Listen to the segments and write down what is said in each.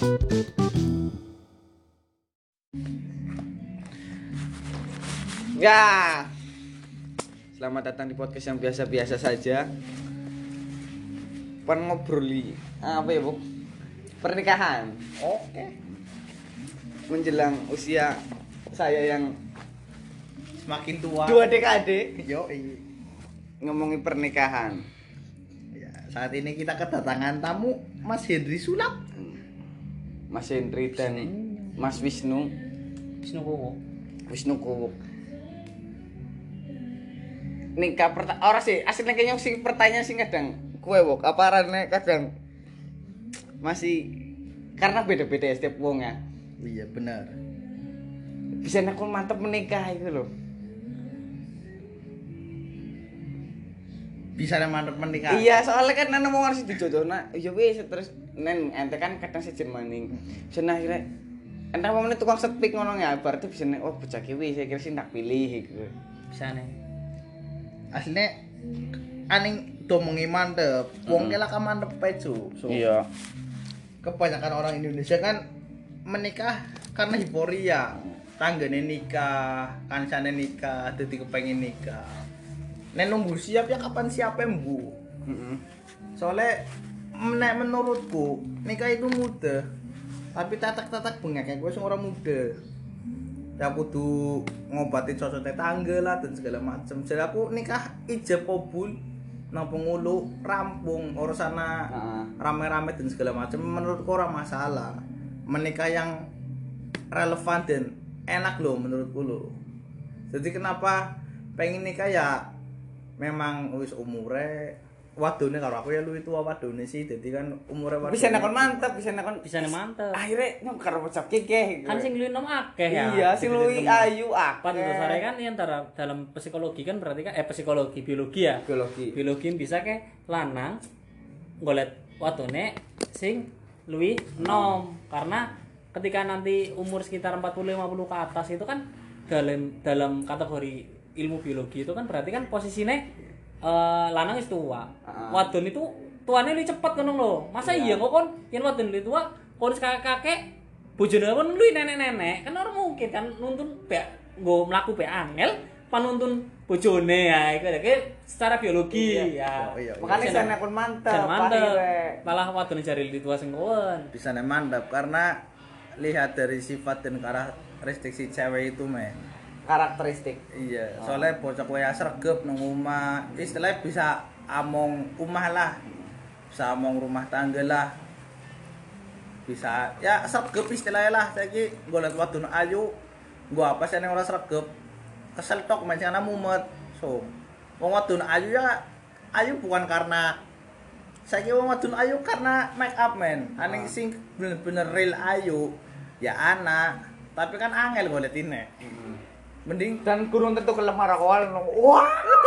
Ya, selamat datang di podcast yang biasa-biasa saja. Ngobroli apa ya, Bu? Pernikahan. Oke. Menjelang usia saya yang Semakin tua. 2 dekade. Yo, Ngomongin pernikahan. ya, saat ini kita kedatangan tamu Mas Hendri Sulap. Mas Hendri dan Mas Wisnu Kuwuk. Nikah ora sih, asline kayaknya sing pertanyaan sing kadang kowe wok apa arane kadang masih karena beda-beda ya setiap wong ya. Iya, benar. Bisa aku mantep menikah itu loh. Bisa mantep menikah. Iya, soalnya kan nang mau harus dijodohna. Ya wis terus nen ente kan kadang sejen maning. Senah akhirnya ente mau menit tukang setpik ngono ya, berarti bisa nek oh bocah ki wis saya kira sing tak pilih gitu. Bisa nih. Aslinya aning domongi mantep. Wong ke laka mantep pecu. So, Iya. kebanyakan orang Indonesia kan menikah karena euforia. Tanggane nikah, kancane nikah, dadi kepengin nikah. Nek nunggu siap ya kapan siapnya mbu. Soalnya menurutku nikah itu mudah. Tapi tatak-tatak bengek gue sing ora mudah. Ya kudu ngobati cocok tetangga lah dan segala macam. Jadi aku nikah ijab kabul nang pengulu rampung urusana rame-rame dan segala macam menurutku ora masalah. Menikah yang relevan dan enak loh menurutku loh. Jadi kenapa pengen nikah ya memang wis umure wadone karo aku ya lu itu wadone sih dadi kan umure wadone Bisa nakon mantep, bisa nakon Bisa nih mantep. akhirnya nyong karo bocah kekeh. Kan sing luwih nom akeh ya. Iya, sing luwih ayu Pada akeh. dasarnya kan ini antara dalam psikologi kan berarti kan psikologi biologi ya. Biologi bisa ke lanang golet watone sing luwih nom karena ketika nanti umur sekitar 40-50 ke atas itu kan dalam kategori ilmu biologi itu kan berarti kan posisinya lanang wis tua. Wadon itu tuane luwih cepet ngono lho. Masa iya kok kon yen wadon luwih tua kon kakek bojone kon luwih nenek-nenek. Kan ora mungkin kan nuntun be nggo mlaku be angel panuntun bojone ya iku secara biologi ya. Makanya bisa nakon mantep. Dan mantep. Malah wadon jari luwih tua sing kowen. bisa mantap karena lihat dari sifat dan karakteristik si cewek itu men. Karakteristik. Iya, soalnya bocah kowe sregep nang omah, istilahnya bisa among omah lah. Bisa among rumah tangga lah. Bisa ya sregep istilahnya lah. Saiki golek wadon ayu, gua apa sih ning ora sregep. Kesel tok mencana mumet. So, wong wadon ayu ya ayu bukan karena saiki wong wadon ayu karena make up men. Aning sing bener-bener real ayu ya anak, tapi kan angel goletine. Mending Dan kurung tentu kelem marakawal. Wah.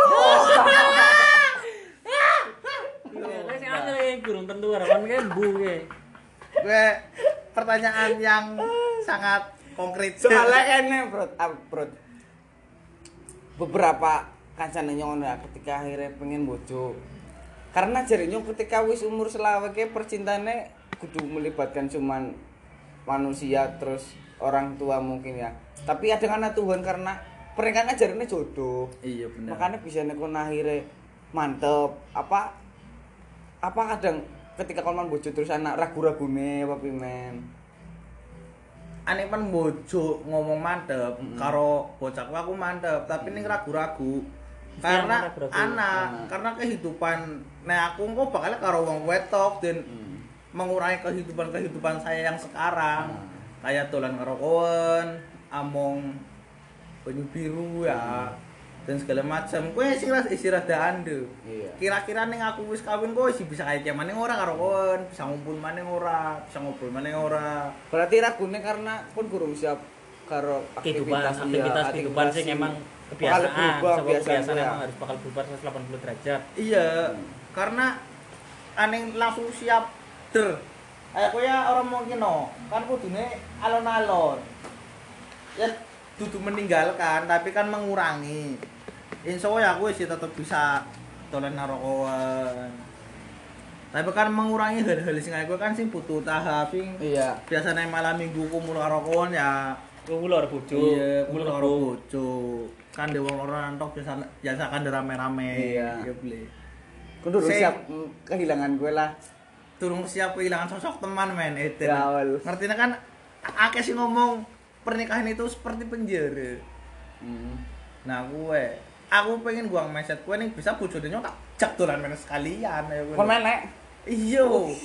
Wis angel gurung tentu harapan ke mbu ke. gue pertanyaan yang sangat konkret. Soalnya ene, Bro. Beberapa kancane nyong ketika akhirnya pengen bojo. Karena jare nyong ketika wis umur selawe ke percintaane kudu melibatkan cuman manusia terus orang tua mungkin ya. Tapi ada karena Tuhan karena pernikahan ajarane jodoh. Iya benar. Makanya bisa nekon akhirnya mantep. Apa kadang ketika kon man bojo terus anak ragu-ragune apa pimen. Aneh pan bojo ngomong mantep karo bocahku aku mantep, tapi ning ragu-ragu. Karena anak, karena kehidupan nah aku kok bakal karo wong wetok dan mengurangi kehidupan saya yang sekarang. Kayak dolan karo kowen, among banyu biru ya. Dan segala macam. Kowe sing istirahat ande. Iya. Kira-kira ning aku wis kawin kowe sih bisa kaya maning ora karo kowen, bisa ngumpul maning ora, bisa ngobrol maning ora. Berarti ragune karena pun kurang siap karo Aktivitas kehidupan sing emang kebiasaan, kebiasaan emang harus bakal berubah 180 derajat. Iya, karena aneh langsung siap der. Kayak kowe ya orang mungkin no, kan kudune alon-alon. Ya dudu meninggalkan tapi kan mengurangi. Insya Allah aku sih tetap bisa dolan karo kowen. Tapi kan mengurangi hal-hal sing aku kan sing butuh tahap sing Iya. biasanya malam minggu kumpul karo kon ya Kumpul karo bojo. iya kumpul kumpul karo karo bojo. Kan dewe orang tok biasa kan rame-rame. Iya. Ya boleh. Kudu Sing- siap kehilangan gue lah. Turun siap kehilangan sosok teman men itu. Ya, awal. Ngertinya kan akeh sih ngomong pernikahan itu seperti penjara. Nah aku pengen guang mindset gue nih bisa bojone nyok tak jak dolan men sekalian ya gue. Kon menek. Iya.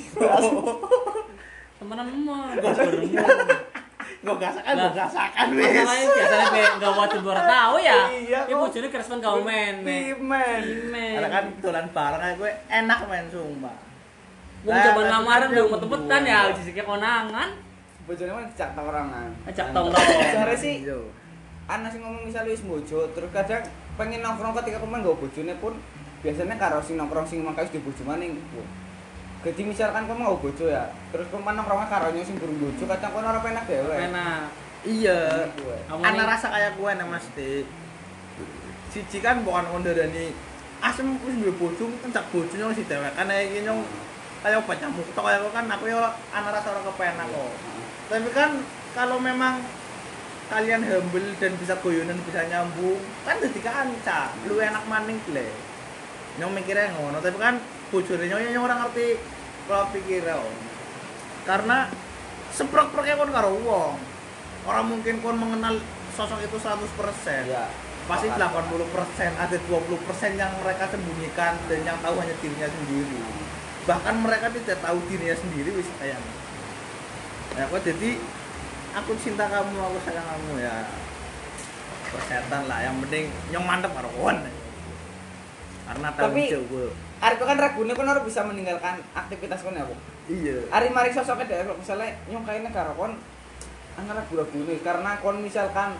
temenan mah gak beremu. Gue gasakan Lah, wis. masalahnya biasanya enggak wajib ora tahu ya. Iya, Iki kok. bojone kerespon kau men. Men. Karena kan dolan bareng aja gue enak men sumpah. Wong jaman lamaran belum metut-metutan ya sisike konangan. Bojone mah dicak tongkrongan. Ajak tongkrong. Jare sih Iya. ana sing ngomong misalnya wis bojo, terus kadang pengen nongkrong ketika pemain nggo bojone pun biasanya karo sing nongkrong sing mangka wis di bojo maning. Jadi misalkan kamu mau bojo ya, terus pemain nongkrongnya karo sing burung bojo, kadang kono ora penak dhewe. Enak. Iya. Kamu Ana nih- rasa kayak gue nih Mas Dik. Siji kan bukan kondarani asem wis duwe bojo kencak bojone wis didewekan ae iki nyong kaya obat nyamuk tok kaya kan aku ya ana rasa ora kepenak kok. Tapi kan kalau memang kalian humble dan bisa goyonan bisa nyambung kan dadi kanca lu enak maning gle nyong mikirnya ngono tapi kan bojone nyong ora ngerti kalau pikirnya karena seprek-preknya kon karo wong orang mungkin kon mengenal sosok itu 100% Ya. pasti 80% ada 20% yang mereka sembunyikan dan yang tahu hanya dirinya sendiri bahkan mereka tidak tahu dirinya sendiri wis kayak ya kok jadi aku cinta kamu aku sayang kamu ya persetan lah yang penting nyong mantep karo kon karena tahu Tapi- gue Arek kan ragune kon ora bisa meninggalkan aktivitas kon ya, Bu. iya Ari mari sosoknya dhewe misalnya nyong kayaknya karo kon ana ragu-ragune karena kon misalkan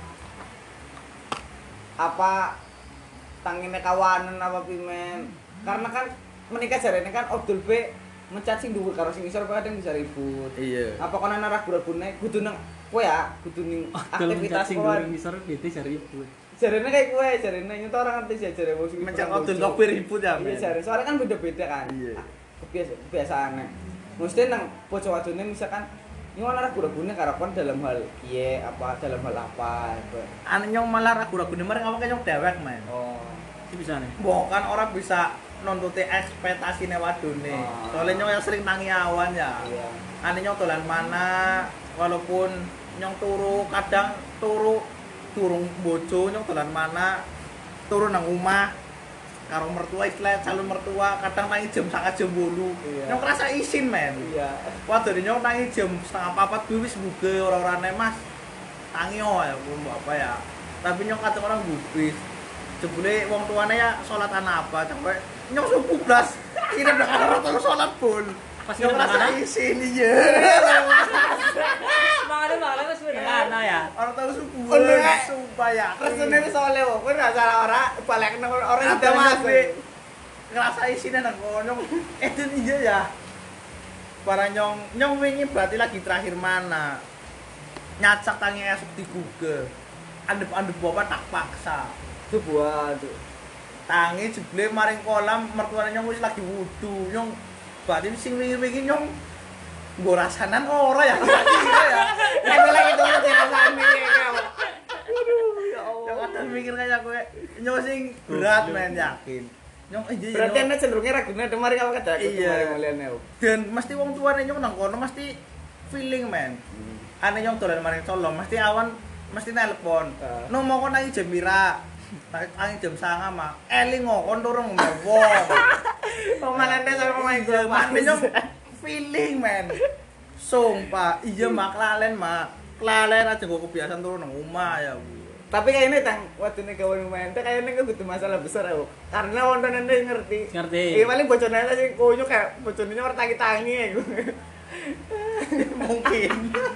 apa tangine kawanan apa pimen. Karena kan menikah jarene kan Abdul B mencat sing dhuwur karo sing isor kadang bisa ribut. iya Apa kon ana ragu-ragune kudu nang kowe ya, kudu ning aktivitas sing kowe. goreng ngisor bete cari ibu. Jarene kayak kowe, jarene nyoto orang ngerti sih jare wong sing mencak perang odol bojo. kopi ribut ya Iya men jare, soalnya kan beda-beda kan. Iya. Kebiasaane. Mesti nang bojo wadone misalkan nyuwun ragu-ragune karo kon dalam hal piye apa dalam hal apa gitu. ane nyong malah ragu-ragu nih mereka apa nyong dewek men Oh. Iki bisa nih. bukan orang bisa nuntuti ekspektasi wadone Oh. soalnya nyong yang sering tangi awan ya Iya. ane nyong dolan mana walaupun nyong turu kadang turung bojo nyong dolan mana turu nang omah karo mertua istilah calon mertua kadang tangi jam 9:30 Iya. nyong kerasa isin men Iya. waduh nyong tangi jam 3:30 gue wis buge ora-orane mas tangi ya pun apa ya tapi nyong kadang orang gubris jebule wong tuane ya salat ana apa sampai nyong subuh blas ini udah karo terus salat pun Pas nyong ngirim rasa anak? isin iya Semangatnya wis sederhana ya. orang tahu subuh Oh, nek. sumpah ya Resune wis oleh wong, kowe ora salah ora balekne ora ada ide mas mas. ngerasa isin nang kono itu iya ya para nyong wingi berarti lagi terakhir mana nyacak tangi esok di Google andep bapak tak paksa Itu buat tuh. tangi jebule maring kolam mertuane nyong wis lagi wudu nyong berarti sing wingi-wingi nyong nggo rasanan ora ya kira-kira ya Tapi lagi dong rasane kamu. nyong kadang mikir kayak kowe nyong sing berat men yakin nyong iya Berarti ana cenderungnya ragune demari kamu kada Iya. kemari mulyane. dan mesti wong tuane nyong nang kono mesti feeling men ane nyong dolan maring Solo mesti awan mesti nelpon no mau kon nang jam pira nang jam 09.00 mah eling kon turung wong Pemanane sampe pemain gue mane nyong feeling men sumpah iya mak lalen aja gue kebiasaan turun nang omah ya Bu. Tapi kayaknya tang waktu nih kawan main teh kayaknya nggak butuh masalah besar aku karena wonten anda ngerti. Ngerti. Iya paling bocornya aja sih kunyuk kayak bocornya orang tangi ya gue. mungkin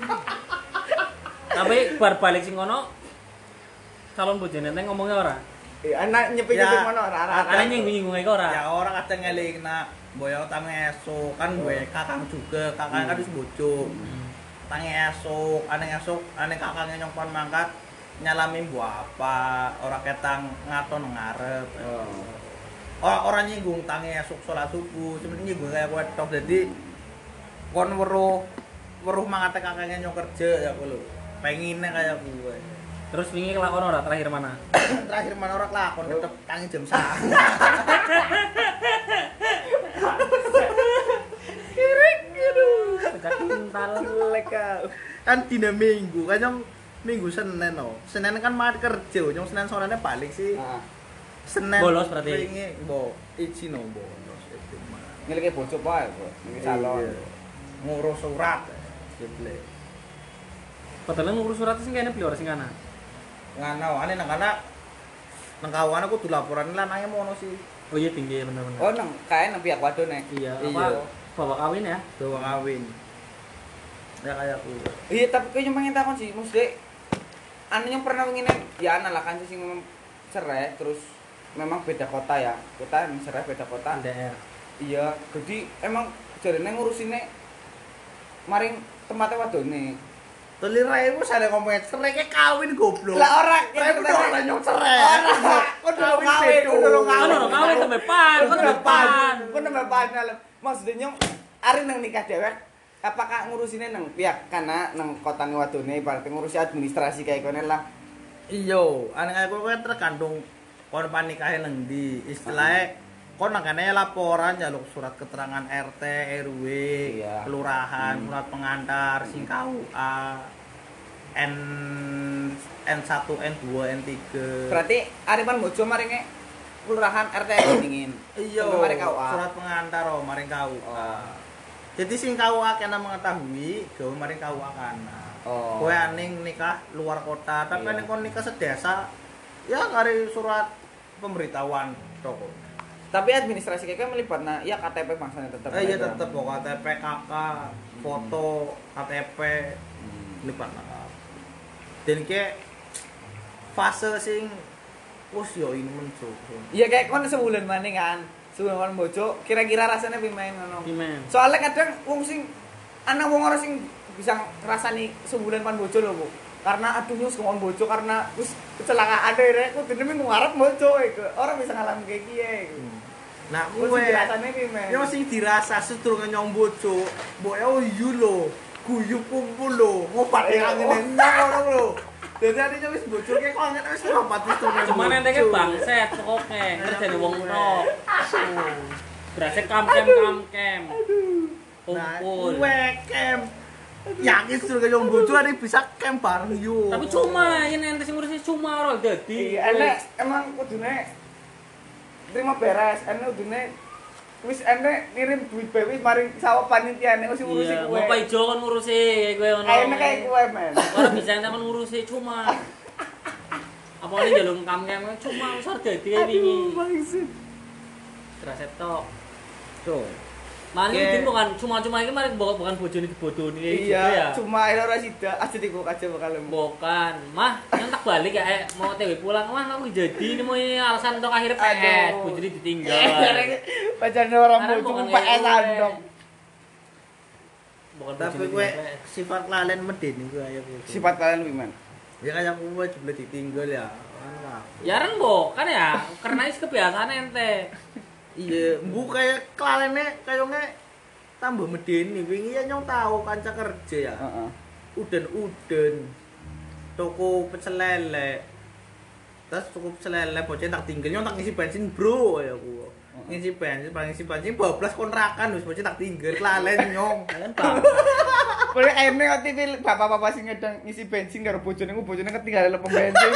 Tapi bar balik sing kono calon bojone teh ngomongnya ora. Iya anak nyepi Ya. mana orang Ana nyinggung-nyinggung iku ora. ya orang kadang ngeling nak boyo tangi esok kan gue kakang juga kakang kan wis bojo tangi esok aneh kakangnya nyong pon mangkat nyalami bu apa ora ketang ngaton ngarep orang nyinggung tangi esuk salat subuh, cuman nyinggung kayak kowe tok dadi kon weruh mangate kakeknya nyong kerja ya kowe lho. Pengine kayak kowe. Terus wingi kelakon ora terakhir mana? Terakhir mana ora kelakon tetep tangi jam 1. Kirik aduh. Pecah kental. Leka. Kan dina Minggu, kan nyong Minggu Senin no. Senin kan maat kerja, nyong Senin sorenya balik sih. Heeh. Senin Bolos berarti? Wingi iji no bolos itu mah. Ngilike bocok wae, Bos. Iki calon. Iya. Ngurus surat. Jeble. Padahal ngurus surat sing kene beli ora sing kana. Ngana ane nang kana nang kawan aku kudu laporan lanange mono sih. Oh iya tinggi bener-bener. Oh, nang kae nang pihak wadone. Iya, Iya. apa bawa kawin ya? Bawa kawin. Ya kayak aku. Iya, tapi kowe yang pengen takon sih, mesti anu yang pernah ngene ya ana lah kan sing cerai terus memang beda kota ya. Kita yang cerai beda kota. LDR. Iya, jadi emang jarene ngurusine maring tempatnya wadone. Telirai ku sare ngomongnya cerai ke kawin goblok. Lah ora, cerai ku ora nyong cerai. Ora, kok durung kawin, kok durung Kan ora kawin sampai pan, kan depan. Kok nambah panel. Maksudnya nyong ari nang nikah dewek apakah ngurusinnya nang pihak kana nang kotane wadone berarti ngurusi administrasi kayak kene lah. Iyo, ane aku kan tergantung kon panikahe nang ndi. Istilahnya kon nang kene laporan jaluk surat keterangan RT, RW, Iya. kelurahan, surat pengantar, sing KUA, N1, N2, N3. Berarti Ariman Mojo maringe kelurahan RT dingin. Iya, Maring KUA. surat pengantar oh maring KUA. Oh. Jadi sing KUA kena mengetahui, gawe maring KUA kana. Oh. Kowe aning nikah luar kota, tapi Iya. nek kon nikah sedesa, ya kari surat pemberitahuan toko. Tapi administrasi kayak melibatna ya KTP bangsanya tetap. Iya tetep kok KTP KK, foto, KTP lipat lah. Dan ke fase sing wis yo ini menco. Iya kayak kon sebulan maneh kan. Sebulan kon bojo, kira-kira rasanya pimen ngono. Pimen. Soalnya kadang wong sing ana wong ora sing bisa ngrasani sebulan pan bojo lho, Bu. Karena aduh wis kon bojo karena wis kecelakaan deh, aku dene minggu ngarep bojo iku. Ora bisa ngalami kayak kiye iku. Nah, Wis kowe rasane pimen. ya sing dirasa sedurunge nyong bojo, mbok ya yo lho, guyub kumpul lho, ngopat kangen ngono lho. Dadi ade wis bojo ki kok ngene wis ngopat wis tuh. Cuman ente ke bangset pokoke, kerjane wong tok. Berasa kamkem. Nah, Kumpul. kowe kem. Yakin sedurunge nyong bojo ade bisa kem bareng yo. Tapi cuma ini ente sing ngurusi cuma ora dadi. Iya, enek emang kudune terima beres, enek kudune wis enek ngirim duit bae wis maring sawah panitia nek wis ngurusi Iya, kowe. mau Pak Ijo kan ngurusi kowe ngono. Enek kayak kowe men. Ora bisa ente kan ngurusi cuma. Apa ini jalung kamkem cuma wis ora dadi kayak wingi. Bangsit. Kerasa tok. Tuh. Mari Oke. ini bukan cuma ini mari bukan bojone dibodoni gitu Iya, ya. cuma ae ora sida aja dikok aja bakal Bukan, mah yang tak balik ya mau TW pulang mah aku jadi ini mau ini alasan untuk akhirnya PS, Aduh. bojone ditinggal. Bacane orang Karena bojo bukan PS kayak andong. Bukan Tapi bojone kowe ditinggal. sifat lalen medeni kowe ayo. Sifat kalian pimen? Ya kayak kowe jebule ditinggal ya. Kan Ya ren kan ya, karena is kebiasaan ente. iya, bu kayak kelalene kayaknya tambah medeni. Wingi ya nyong tahu kanca kerja ya. Heeh. Uden toko pecel lele. Terus toko pecel lele bocah tak tinggal nyong tak ngisi bensin bro ya aku. Ngisi bensin bablas kontrakan wis bocah tak tinggal kelalen nyong. Kan Pak. Boleh ene ngerti bapak-bapak sing ngedang ngisi bensin karo bojone ketinggalan lepeng bensin.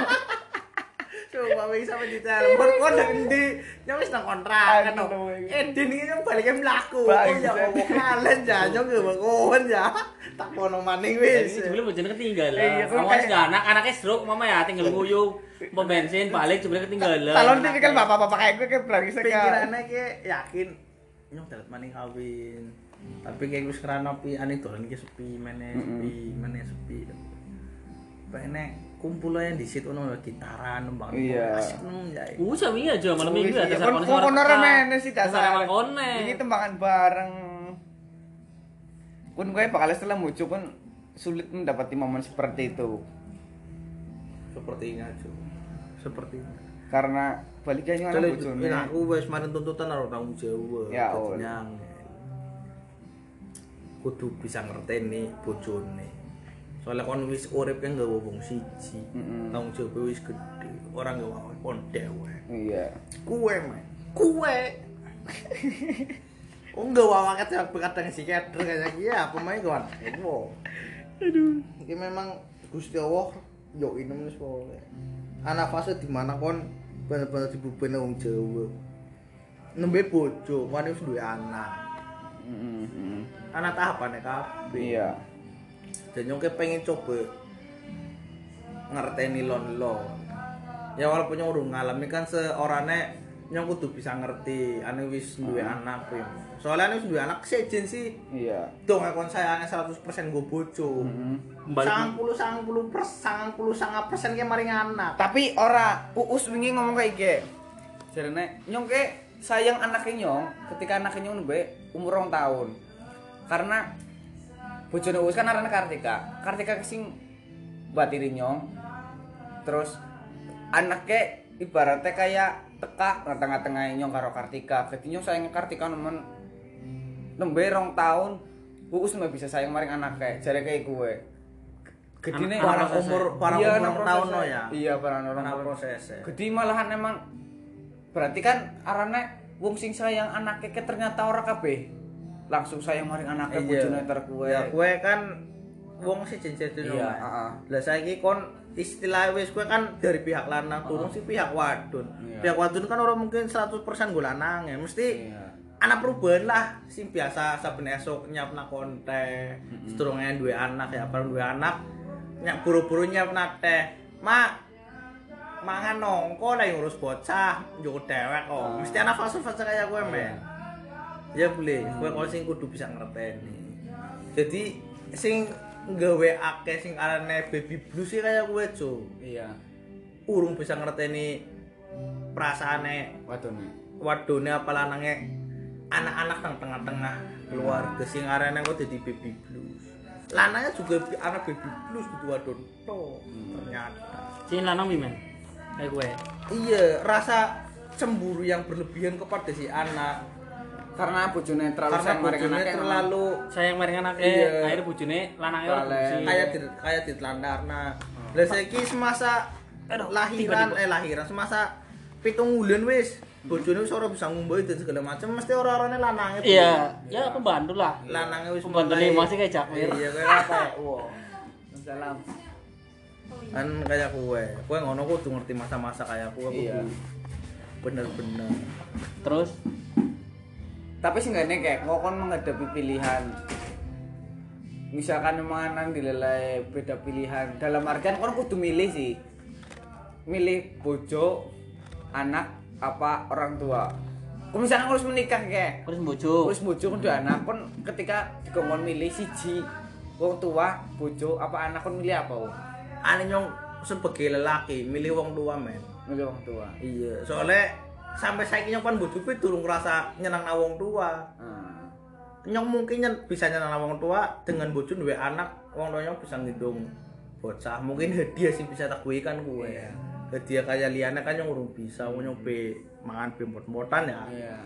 Coba wis sampe ditelepon kok nang endi? Nyong wis nang kontrakan. Aduh, Den iki nyong balike mlaku. Oh Bang, ya Allah kelalen ya nyong ge kon ya. Tak kono maning wis. Jadi sebelum bojone ketinggalan. Iya, kan Kamu kayak- sudah anaknya stroke mama ya tinggal nguyu, mau bensin balik sebelum ketinggalan. Talon tipikal bapak-bapak kayak gue kayak berani sekali. Pikirane ki yakin nyong dalet maning kawin. Tapi kayak wis kerana pi ane dolan iki sepi meneh sepi. Pengen kumpul aja di situ ono gitaran nembang. Iya. Asik nang ya. Sami aja malam minggu ya dasar Kon kon ora meneh sih dasar. Dasar kone. Iki tembangan bareng. Kun gue bakal setelah muncul pun sulit mendapati momen seperti itu. Sepertinya. karena balikan yo anak bojone. Aku wis marin tuntutan karo tanggung jawab. Ya kudu bisa ngerteni bojone. Soalnya kon wis urip kan gak wong siji. Tanggung jawab wis gede. Orang gak wae kon dewek. Iya. Kue. Oh enggak wawaket ya kadang si keder kayak ya pemain kawan. Aduh. Ini memang Gusti Allah yo inem wis pokoke. Ana fase di mana kon bener-bener dibubeni wong Jawa. Nembe bojo, kon wis duwe anak. Anak tahapane kabeh. Iya. Dan nyong pengen coba ngerteni lon. Ya walaupun nyong urung ngalami kan seorane nyong kudu bisa ngerti ane wis duwe anak kuwi. Soalnya ane wis duwe anak sejen sih. Iya. Dong kon sayangnya 100% go bojo. 90% ki maring anak. Tapi ora Uus wingi ngomong kayak iki. Jarene nyong ke sayang anaknya nyong ketika anaknya nyong nembe umur 2 tahun. Karena bojone Uus kan arane Kartika. Kartika sing batiri nyong. Terus anaknya ibaratnya kayak teka tengah-tengah nyong karo Kartika. Jadi nyong sayang Kartika nemen nembe 2 tahun Uus mah bisa sayang maring anaknya. Jare kayak gue. Gedine para umur tahun no ya. Iya, para orang proses. Gede malahan emang berarti kan arane wong sing sayang anaknya ke ternyata ora kabeh. Langsung sayang maring anaknya bojone ter kuwe. Ya kuwe kan wong sih jenis itu. Iya, Lah saiki kon istilah wis kuwe kan dari pihak lanang turun sih pihak wadon. Iya. Pihak wadon kan orang mungkin 100% go lanang ya. Mesti anak perubahan lah sing biasa saben esuk nyiapna konte. Sedurunge duwe anak ya, bareng duwe anak nyak buru-buru nyiapna teh. Mangan nongko lah ngurus bocah, njuk dewek kok. Mesti anak fase-fase kayak gue men. Ya boleh, gue kalau sing kudu bisa ngerteni. Jadi sing gawe akeh sing arane baby blues sih kayak gue cu. Iya. Urung bisa ngerteni perasaane wadone apa lanange anak-anak nang tengah-tengah keluarga sing arane kok dadi baby blues. Lanangnya juga anak baby blues gitu wadon. Ternyata. Sing lanang wi men. Kayak gue. Iya, rasa cemburu yang berlebihan kepada si anak. Karena bojone terlalu sayang maring anaknya. Terlalu sayang maring anaknya. Iya. Akhirnya bojone lanangnya ora busi. kayak ditelantarna. Lah saiki semasa lahiran semasa 7 bulan wis bojone wis ora bisa ngumbai dan segala macam mesti ora-orane lanange. Iya, ya pembantu lah. Lanange wis pembantu nih masih kayak Jakmir. Iya kayak apa? Wow. Salam. Kan kayak kowe ngono kudu ngerti masa-masa kayak kowe Iya. Bener-bener. Terus Tapi seenggaknya kayak ngokon menghadapi pilihan. Misalkan manganan dilelai beda pilihan. Dalam artian kon kudu milih sih. Milih bojo, anak apa orang tua. Kok misalnya harus menikah kayak. terus bojo. Terus bojo kudu anak kon ketika dikon milih siji. Wong tua, bojo apa anak kon milih apa? Ane nyong sebagai lelaki milih wong tua men. Milih wong tua. Iya, soalnya sampai saiki nyong pan bojoku durung ngerasa nyenangna wong tua. Nyong mungkin bisa nyenangna wong tua dengan bojo duwe anak, wong tua nyong bisa ngidung bocah. Mungkin hadiah sih bisa tak kan kuwe. Iya. Hadiah kaya liyane kan nyong urung bisa, wong nyong mangan bembot-botan ya. Iya.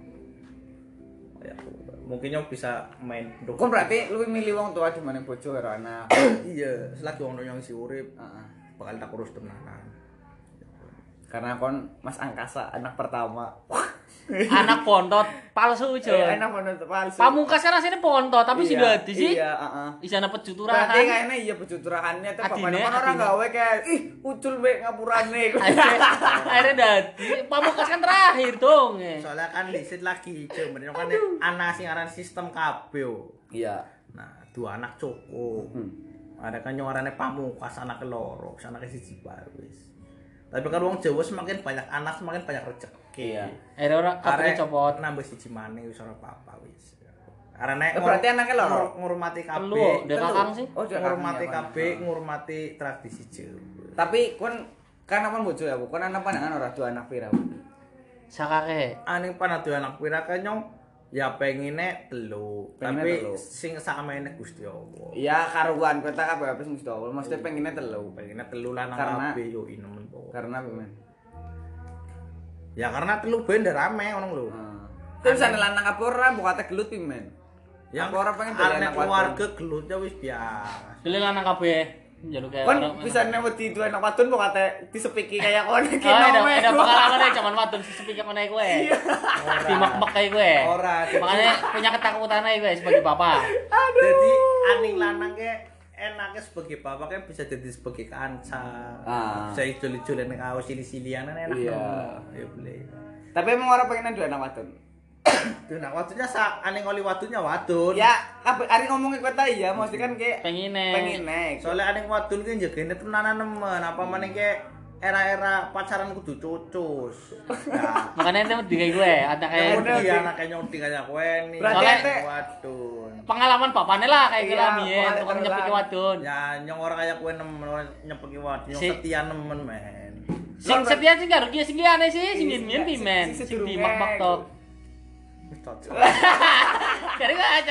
Ya, mungkin nyong bisa main Kon berarti lu milih wong tua di mana bojo karo anak. Iya, selagi wong tua nyong isih urip, Heeh. bakal tak urus tenanan. Karena kon Mas Angkasa anak pertama. Anak pontot palsu jo. Anak pontot palsu. Pamungkas kan asline pontot tapi sing dadi sih. Iya, heeh. Isana pecuturahan. Berarti kayaknya iya pecuturahannya tuh bapaknya kan orang gawe kayak ih ucul be ngapurane. Akhirnya dadi pamungkas kan terakhir dong. Soalnya kan lisit lagi, cuman kan anak sing aran sistem kabeh. Iya. Nah, 2 anak cukup. Ada kan yang arane pamungkas anak loro, anak siji bae wis. Tapi kan wong Jawa semakin banyak anak semakin banyak rezeki. Iya. Akhirnya ora kabeh copot. Nambah siji maneh wis ora apa-apa wis. Arane berarti anaknya loro. Ngurmati kabeh. Lu, dia kakang sih. Oh, dia ngurmati kakangnya, kabeh, ngurmati tradisi Jawa. Tapi kon kan apa bojo ya, Bu? Kon anak pandangan ora 2 anak pira, Bu? Sakake. Ane panah 2 anak pira kan nyong ya pengine 3. Tapi sing sakmene Gusti Allah. Iya, karuan kota kabeh Gusti Allah. Mesti pengine 3. Pengine 3 lanang Karena- kabeh yo inem. Karena men. Ya karena telu benda rame ngono lho. Terus ana lanang apa ora mbok kate gelut pimen. Yang apa ora pengen dolanan arek wadon. keluarga gelutnya wis biasa. Dile lanang kabeh njaluk kayak Kon bisa wedi duwe anak wadon mbok kate disepiki kayak kono iki Oh, nome. ada pengalaman aja zaman wadon sepikir mana gue. Dimek-mek kayak gue. Ora. Makanya punya ketakutan aja gue sebagai bapak. Jadi aning lanang ke enaknya sebagai bapak kan bisa jadi sebagai kanca. Bisa ijol-ijolan ning awas sili-silian enak. Iya. Ya boleh. Tapi emang ora pengen duwe anak wadon. Tuh nak wadunya aning oli wadunya wadon. Ya, ari ngomongin kota iya, mesti kan kayak Pengine. Soalnya aning wadon ki njegene tenanan nemen, apa meneh ke era-era pacaran kudu cucus. Nah, Makanya itu di kayak gue, ada kayak dia anaknya nyoding kayak kowe nih. Berarti Soalnya- ente Wadon. pengalaman bapaknya lah kayak Iya, gila biyen, pokoknya tukang terus nyepiki lah. wadon. Ya nyong orang kayak kowe nemen orang nyepeki wadon, nyong Si- setia nemen men. Sing setia sing karo dia sing liyane sih, sing Sing- yen pimen, sing sing sedurunge. dimak-mak tok. Wis cocok. Cari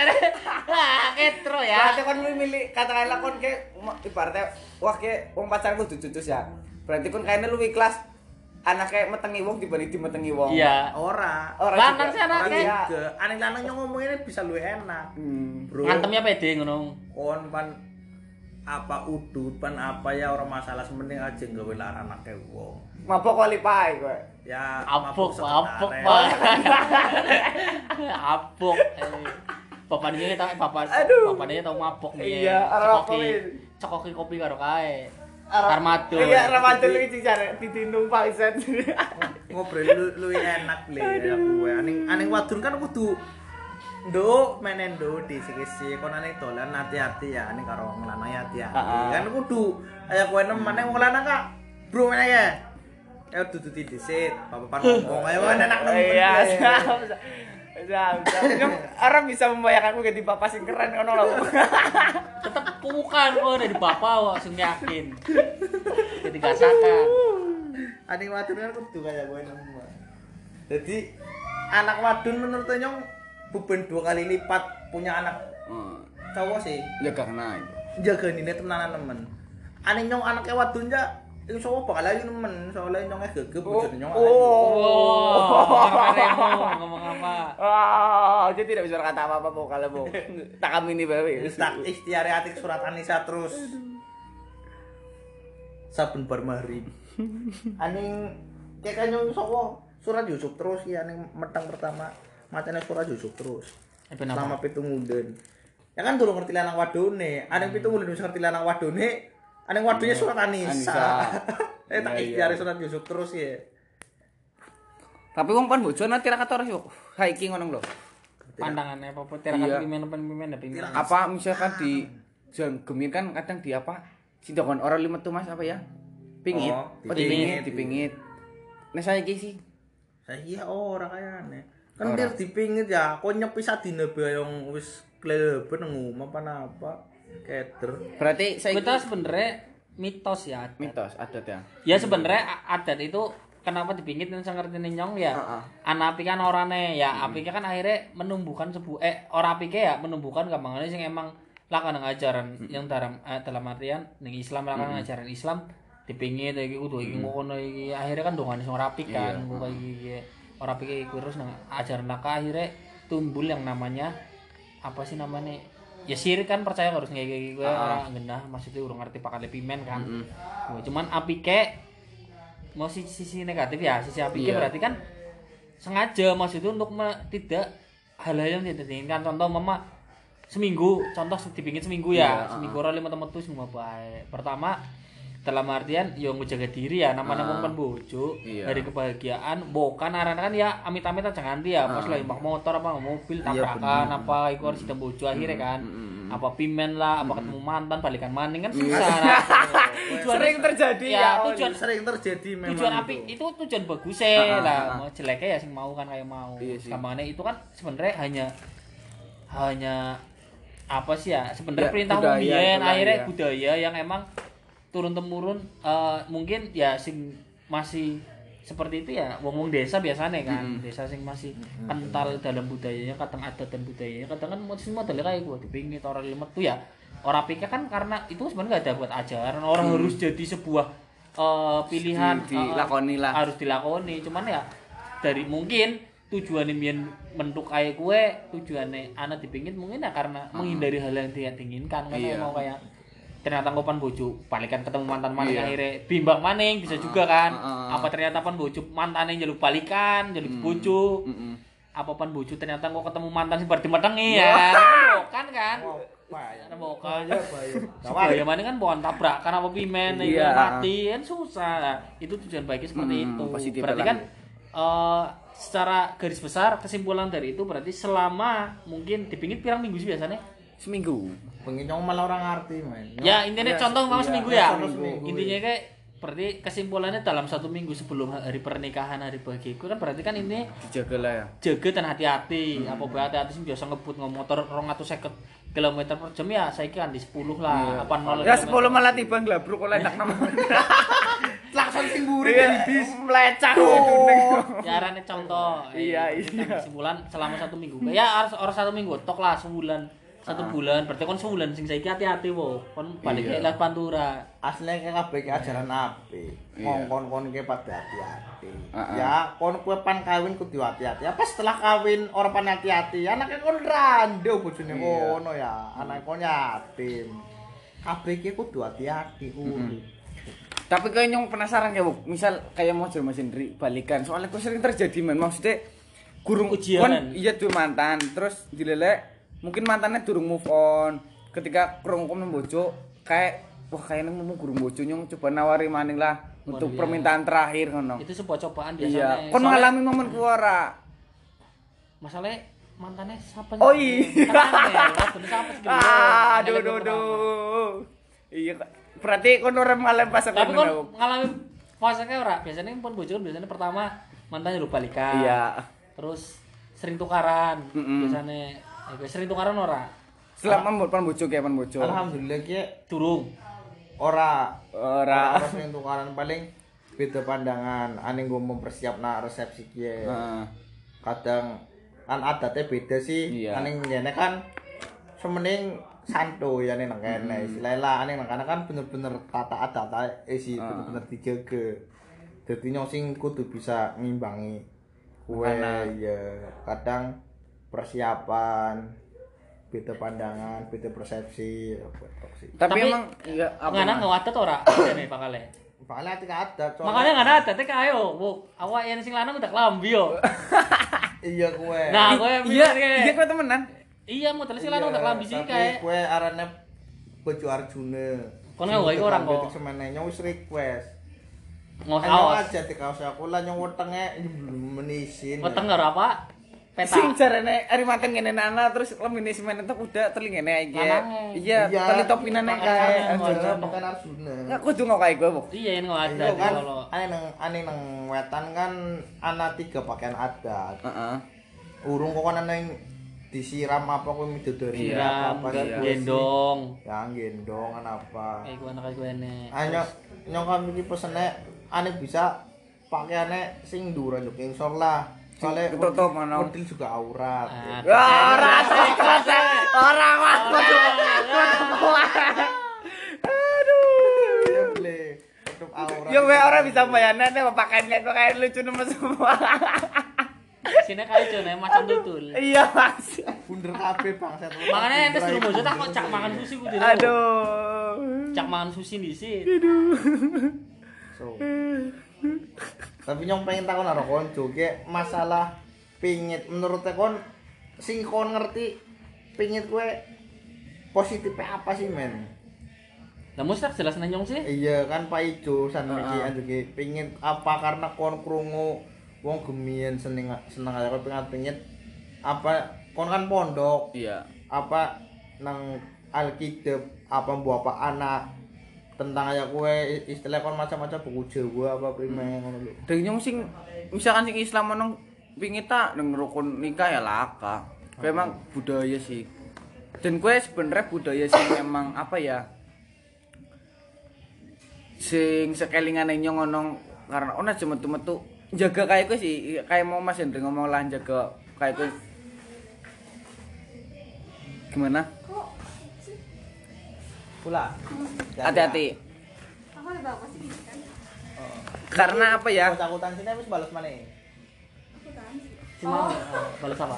ketro ya. Berarti kon lu milih katakanlah kon kayak ibaratnya wah kayak wong pacaran kudu cucus ya. Berarti kon kayaknya lu ikhlas anaknya metengi wong dibanding dimetengi wong. Iya. Ora. Lanang juga. sih anaknya. Orang iya. Juga aneh lanang nyong ngomongin bisa lu enak. Bro. Ngantem ya pede ngono. Kon pan apa udut pan apa ya orang masalah sementing aja gawe larang anake wong. Mabok kali pae kowe. Ya Apuk, mabuk apuk, sekretare. apuk. Bapaknya tau Aduh. bapaknya tau mabok nih. Iya, arep kopi. Cokoki kopi karo kae. Armado. Iya, Ramadan lu iki jare ditindung paisan. Ngobrol lu enak le ya kowe. Aning wadon kan kudu nduk menen nduk disi-disi kon aning dolan hati-hati ya aning karo wong lanang hati-hati. Kan kudu kaya kowe nemen wong lanang kak. Bro meneh ya. Ya dudu disit, bapak ngomong ayo enak nemen. Iya, orang bisa membayangkanku jadi bapak sing keren ngono lho. Tetep bukan kok dari bapak kok sing yakin. Jadi gasakan. Aning wadon kan kudu kaya kowe nemen. Jadi anak wadon menurut nyong beban 2 kali lipat punya anak cowok sih. Ya karena itu. Jaga ini tenanan nemen. Aning nyong anaknya wadon ja iku sapa bakal ayu nemen, soalnya nyong gegep bojone nyong. Karemu ngomong apa? Jadi tidak bisa berkata apa-apa mau kalau mau. Tak kami ini bae. Tak ikhtiare atik surat Anisa terus. Saben bar maghrib. Aning kayak nyong sapa surat Yusuf terus ya aning metang pertama macane surat Yusuf terus. Selama pitungunden. Ya kan durung ngerti lanang wadone. Aning pitungunden wis ngerti lanang wadone. Aning wadone surat Anisa. Tak ikhtiare surat Yusuf terus ya. Tapi wong pan bojo nanti ra kator yo. Haiki ngono lho. Pandangannya apa tirakat pimen Apa misalkan di gemin kan kadang di apa? Sindokon orang limet tuh Mas apa ya? Pingit. Oh, dipingit. Nah saya iki sih. Saya ora kayane. Kan dia dipingit ya, kok nyepi sadine bae yang wis kleben nang omah apa keder. Berarti saya kita sebenarnya mitos ya. mitos adat ya. Ya sebenarnya adat itu kenapa dipingit dan saya ngerti nyong ya. Anak apike kan orane ya apike kan akhirnya menumbuhkan ora apike ya menumbuhkan gampangane sing emang lakukan ajaran yang dalam artian ning Islam lakukan ajaran Islam dipingit iki kudu iki ngono iki akhirnya kan dongane sing ora apik kan kok iki ora apike iku terus nang ajaran laka akhirnya tumbul yang namanya apa sih namanya ya sirik kan percaya harus kayak gue orang genah maksudnya urung ngerti pakai pimen kan cuman apike mau sisi negatif ya sisi apike berarti kan sengaja maksudnya untuk tidak hal-hal yang tidak diinginkan contoh mama seminggu contoh dipingin seminggu ya seminggu orang 5 temen tuh semua baik pertama dalam artian yo ngejaga diri ya namanya wong kan bojo dari kebahagiaan bukan arane kan ya amit-amit aja nganti ya pas lagi mbak motor apa mobil tabrakan apa iku harus sidang bojo akhirnya kan apa pimen lah apa ketemu mantan balikan maning kan susah sering terjadi ya tujuan sering terjadi memang tujuan apik itu tujuan bagus lah mau jeleknya ya sing mau kan kayak mau gampangnya itu kan sebenarnya hanya apa sih ya sebenarnya perintah umum akhirnya budaya yang emang turun temurun mungkin ya sing masih seperti itu ya wong-wong desa biasanya kan desa sing masih kental dalam budayanya kadang adat dan budayanya kadang kan semua modelnya kayak gue dipingit orang limet tuh ya orang pikir kan karena itu sebenarnya nggak ada buat ajaran orang harus jadi sebuah pilihan dilakoni lah harus dilakoni cuman ya dari mungkin tujuannya biyen mentuk kaya kue tujuannya anak dipingin mungkin ya karena menghindari hal yang dia inginkan kan mau kayak ternyata ngopan bojo balikan ketemu mantan maning akhirnya bimbang maning bisa juga kan apa ternyata pan bojo mantannya jaluk balikan jaluk bojo apa pan bojo ternyata kok ketemu mantan sing berarti metengi ya kan bahaya maning kan pohon tabrak karena apa pimen mati kan susah itu tujuan baiknya seperti itu berarti kan secara garis besar kesimpulan dari itu berarti selama mungkin dipingit pirang minggu sih biasanya seminggu. Pengen malah orang ngerti, men. Ya, intinya contoh mau seminggu ya. Intinya kayak berarti kesimpulannya dalam 1 minggu sebelum hari pernikahan, hari bahagiaku kan berarti kan ini dijaga lah ya. Jaga dan hati-hati. Apa bae hati-hati sing biasa ngebut motor 250 km per jam ya saiki kan di 10 lah. Apa 0 ya 10 malah tiba nglabruk oleh enak nama. Klakson sing mburi kan bis melecak ya arane contoh. Iya. Kesimpulan selama 1 minggu. Ya harus 1 minggu tok lah sebulan. 1 bulan berarti kon sebulan sing saiki hati-hati wo kon balik ke Las Pantura asline kabeh ki ajaran apik kon ki pada hati-hati ya kon kowe pan kawin kudu hati-hati apa setelah kawin ora pan hati-hati anake kon rando bojone ngono ya anake kon yatim kabeh ki kudu hati-hati tapi kayak nyong penasaran ya Bu misal kayak mau Mas Hendri balikan soalnya kok sering terjadi men maksudnya gurung ujian iya tuh mantan terus dilelek mungkin mantannya durung move on ketika krungu bojo kayak wah kayaknya mau gurung bojo nyong coba nawari maning lah untuk permintaan terakhir ngono itu sebuah cobaan biasanya iya kon ngalami momen ku ora masalahnya mantannya siapa oh iya aduh iya berarti kon ora mengalami fase tapi kon ngalami fase ora biasanya pun bojo biasanya pertama mantannya lu balikan iya terus sering tukaran biasanya sering tukaran ora? Selama pan bojo ki pan bojo. Alhamdulillah ki durung. Ora sering tukaran paling beda pandangan. Ane nggo mempersiapna resepsi ki. Kadang kan adatnya beda sih. Ane ngene kan semening santuy ane nang kene. Istilahnya ane nang kana kan bener-bener tata adat sih bener-bener dijaga. Dadi nyong sing kudu bisa ngimbangi kuwe ya kadang persiapan beda pandangan beda persepsi tapi emang iya apa ngana ngawatet ora jane pakale ati adat makanya ngana adat teh ayo bu awak yen sing lanang udah klambi yo iya kowe nah kowe iya kowe temenan iya model sing lanang udah klambi sih kae kowe arane bojo Arjuna kon nggawe orang kok semene wis request ngawas aja dikaos aku lah nyong wetenge menisin weteng karo apa peta sing jarene ari mateng ngene ana terus lemine semen entek udah telingene iki iya tali topinane kae bukan Arjuna enggak kudu ngok kae kowe iya yen adat kalau ane nang wetan kan ana 3 pakaian adat urung kok ana disiram apa kowe midodori apa gendong ya gendong apa iku anak ene nyong kami iki pesene ane bisa pakaiane sing dhuwur yo kingsor lah soalnya tutup mana model juga aurat ora aduh tutup aurat yo we ora bisa bayane pakaiannya kok kayak lucu nemes semua sini kali jone macam tutul iya mas bunder kabeh bangsa makanya ente suruh bojo tak kok cak mangan sushi kudu aduh cak mangan sushi disit so tapi nyong pengen takon karo konco ki masalah pingit menurut kon sing kon ngerti pingit kowe positifnya apa sih men lah mesti jelas nanyong sih iya kan Pak Ijo san iki anjuke pingin apa karena kon krungu wong gemien seneng aja kon pingin apa kon kan pondok iya apa nang Alkitab apa mbok apa anak tentang aja kue istilah kon macam-macam buku Jawa apa primen ngono lho. Deng nyong sing misalkan sing Islam meneng pingin tak nang rukun nikah ya laka. Memang budaya sih. Dan kue sebenarnya budaya sing memang apa ya? Sing sekelingane nyong ngono karena ona aja metu-metu jaga kayak gue sih kayak mau Mas Hendri ngomong lah jaga kayak gue gimana? Pula. Hati-hati. Aku ada bapak sih kan. Karena apa ya? Cakutan sini wis balas maneh. Cuma balas apa?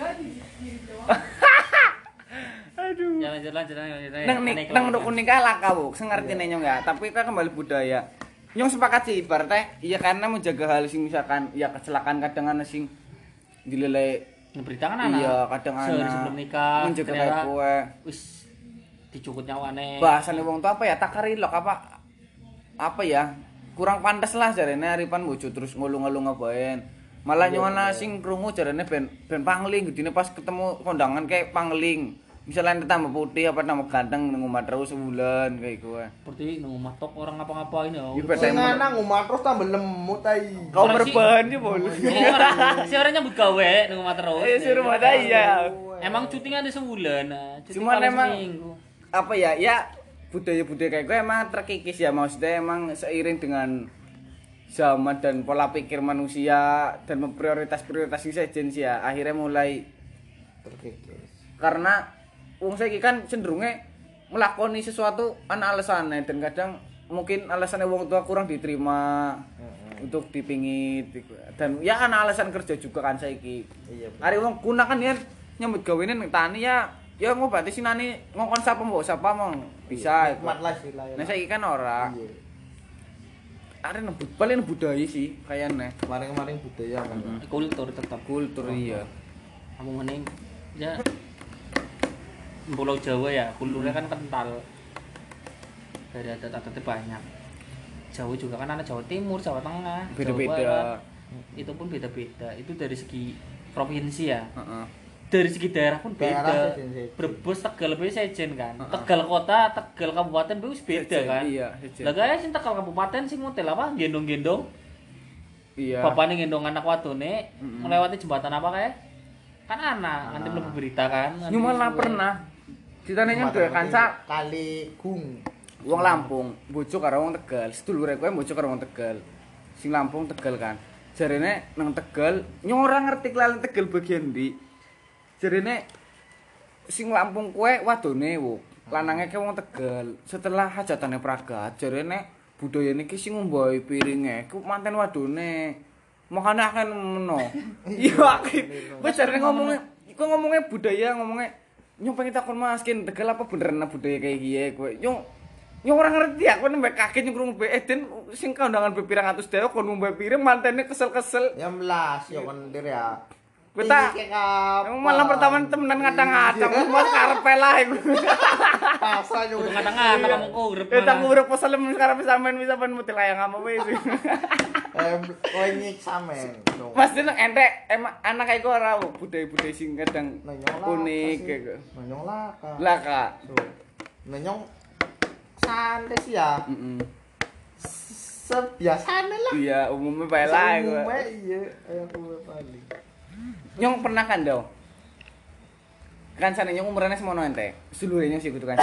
Aduh. Ya lanjut. Nang rukun nikah laka bu, sengerti nyong ya. Tapi kita kembali budaya. Nyong sepakat sih ibaratnya, iya karena menjaga hal sing misalkan ya kecelakaan kadang ana sing dilelai berita kan anak. Iya, kadang sehari anak. sebelum nikah Menjaga ternyata kayak kowe. wis dicukut nyawane. Bahasane wong tuh apa ya? Takarilok apa ya? Kurang pantas lah jarene aripan bojo terus ngulung-ngulung ngapain. Malah nyona sing krungu jarene ben pangling gedine pas ketemu kondangan kayak pangling. Misalnya tambah putih apa tambah ganteng nang omah terus sebulan kayak gue. Seperti nang omah tok orang ngapa-ngapain ya. Sing lanang omah terus tambah lemut ai. Kau berbahan ya bol. Si orang nyambut gawe nang omah terus. Eh suruh mata iya. Emang cutinya ada sebulan. Cuti Cuman paling emang seminggu. apa ya? Ya budaya-budaya kayak gue emang terkikis ya, maksudnya emang seiring dengan zaman dan pola pikir manusia dan prioritas-prioritas yang sejen sih ya akhirnya mulai Terkikis. karena wong saiki kan cenderungnya melakoni sesuatu ana alasannya dan kadang mungkin alasannya wong tua kurang diterima untuk dipingit dan ya ana alasan kerja juga kan saiki. Iya. Ari wong gunakan ya nyambut gawene ning tani ya ngobati sinane ngongkon sapa mbok sapa mong bisa iku. Nikmat lah sih lah. Nah saiki kan ora. Iya. Are nebut paling budaya sih kayaknya. Kemarin-kemarin budaya kan. Kultur tetap. Kultur iya. Kamu mending ya Pulau Jawa ya kulturnya kan kental dari adat-adatnya banyak. Jawa juga kan ada Jawa Timur, Jawa Tengah, Beda-beda. Jawa Barat. Itu pun beda-beda. Itu dari segi provinsi ya. Heeh. Dari segi daerah pun beda. Daerah sejen-sejen. Brebes, Tegal beda sejen kan. Tegal kota, Tegal kabupaten wis beda Sejen, kan. iya, sejen. Lah guys sing Tegal kabupaten sing model apa? Gendong-gendong. Iya. Bapaknya gendong anak wadone melewati jembatan apa kayak? Kan anak, nanti belum berita kan. nanti Nyuman lah suwe. pernah. Ceritanya nyampe kanca kali gung. wong Lampung, bojo karo wong Tegal. Sedulure kowe bojo karo wong Tegal. Sing Lampung Tegal kan. Jarene nang Tegal, nyong ora ngerti kelalen Tegal bagian ndi. Jarene sing Lampung kowe wadone wo, lanange ke wong Tegal. Setelah hajatane pragat, jarene budaya niki sing ngombahi piringe ku manten wadone. Makane akeh meno. Iya akeh. Wis jarene ngomongnya budaya, ngomongnya nyong pengen takon Mas kin Tegal apa beneran budaya kayak gini kowe. Nyong ora ngerti aku nembek kaget nyong krungu be den sing kondangan be pirang atus dewe kon ngombe piring mantene kesel-kesel. Ya melas ya kan dir ya. Kita malah pertama temenan ngadang-ngadang mas karepe lah iku. Pasal yo. Kadang-kadang kamu urip. Kita ngurep peselem karepe sampean bisa ben mutil ayang apa wis. Kowe nyik sampean. Mas den entek emang anak iku ora budaya-budaya sing kadang unik kayak. Nonyong laka. Lah Kak. Nonyong santai sih ya. Heeh. Sebiasane lah. Iya, umumnya bae lah iku. Umumnya iya, ayo kowe paling. Nyong pernah kan do. Kan sana nyong umurane semono ente. Sedulurnya sih kudu kan.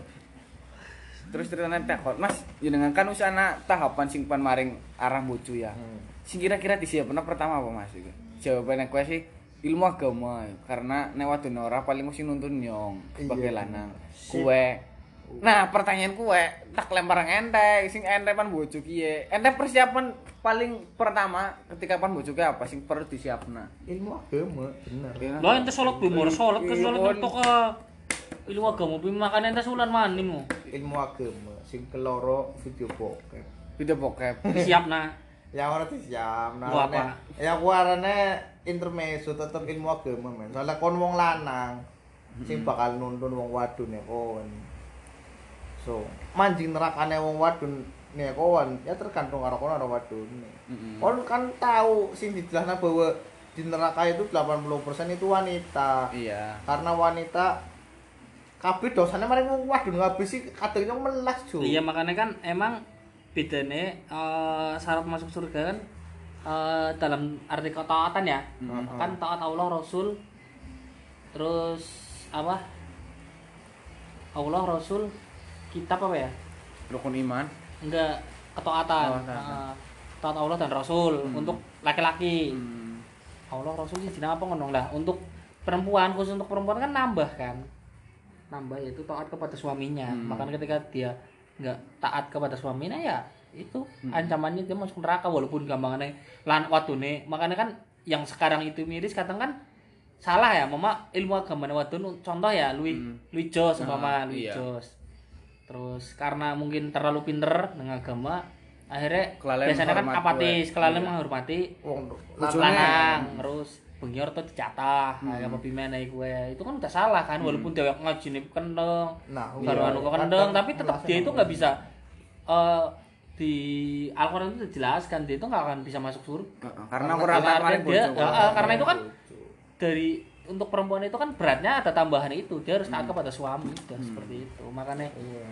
Terus ceritanya takut, Mas, jenengan kan usana tahapan sing pan maring arah bojo ya. Sing kira-kira disiapna pertama apa Mas iku? Jawabannya kowe sih ilmu agama karena nek wadon ora paling mesti nuntun nyong sebagai lanang. Kowe. Nah, pertanyaan kowe tak lempar ente, sing ente pan bojo kiye. Ente persiapan paling pertama ketika pan bojo ki apa sing perlu disiapna? Ilmu agama, bener. Lah ente salat bimur salat ke salat tok ilmu agama pi makane ente sulan manimu. Ilmu agama sing keloro video bokep. Video bokep. Disiapna. Ya ora disiap. Gua apa? Ya ku arane intermezzo tetep ilmu agama men. Soalnya kon wong lanang sing bakal nuntun wong wadon ya kon. So, mancing nerakane wong wadon nek kon ya tergantung karo kon karo wadone. Kon kan tahu sing dijelasna bahwa di neraka itu 80% itu wanita. Iya. Karena wanita kabeh dosane maring wong wadon kabeh sih kadang nyong melas, Jo. Iya makanya kan emang bedane syarat masuk surga kan dalam arti ketaatan ya. Kan taat Allah Rasul terus apa? Allah Rasul kitab apa ya? Rukun iman. Enggak ketaatan. Taat Allah dan Rasul untuk laki-laki. Allah Rasul sih jeneng apa ngono lah. Untuk perempuan khusus untuk perempuan kan nambah kan. Nambah yaitu taat kepada suaminya. Makanya ketika dia enggak taat kepada suaminya ya itu ancamannya dia masuk neraka walaupun gampangannya lan wadone. Makanya kan yang sekarang itu miris kadang kan salah ya mama ilmu agama wadon contoh ya Louis Jos umpama Louis Jos terus karena mungkin terlalu pinter dengan agama akhirnya biasanya kan apatis kelalen menghormati lanang terus bengior tuh dicatah kayak apa pimene gue itu kan udah salah kan walaupun dia ngaji nih kendeng baru anu kendeng tapi tetap dia itu nggak bisa di Al-Quran itu dijelaskan dia itu nggak akan bisa masuk surga karena karena itu kan dari untuk perempuan itu kan beratnya ada tambahan itu dia harus taat kepada suami dan seperti itu makanya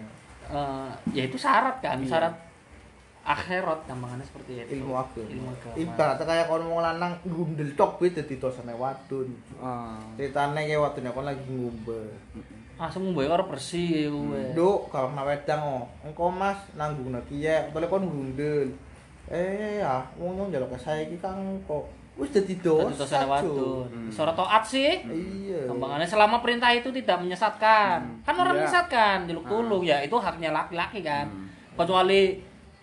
ya itu syarat kan syarat akhirat gampangannya seperti itu ilmu agama ibaratnya kayak kon wong lanang gundel tok kuwi dadi dosane wadon ceritane kayak wadon kon lagi ngumbe langsung ngumbe karo bersih kowe nduk kalau kena wedang engko Mas nanggung kiye tole kon gundel ya wong njaluk saiki Kang kok wis dadi dosa wadon. Sora taat sih. Iya. Gampangannya selama perintah itu tidak menyesatkan. Kan orang menyesatkan, jeluk tulung ya itu haknya laki-laki kan. Kecuali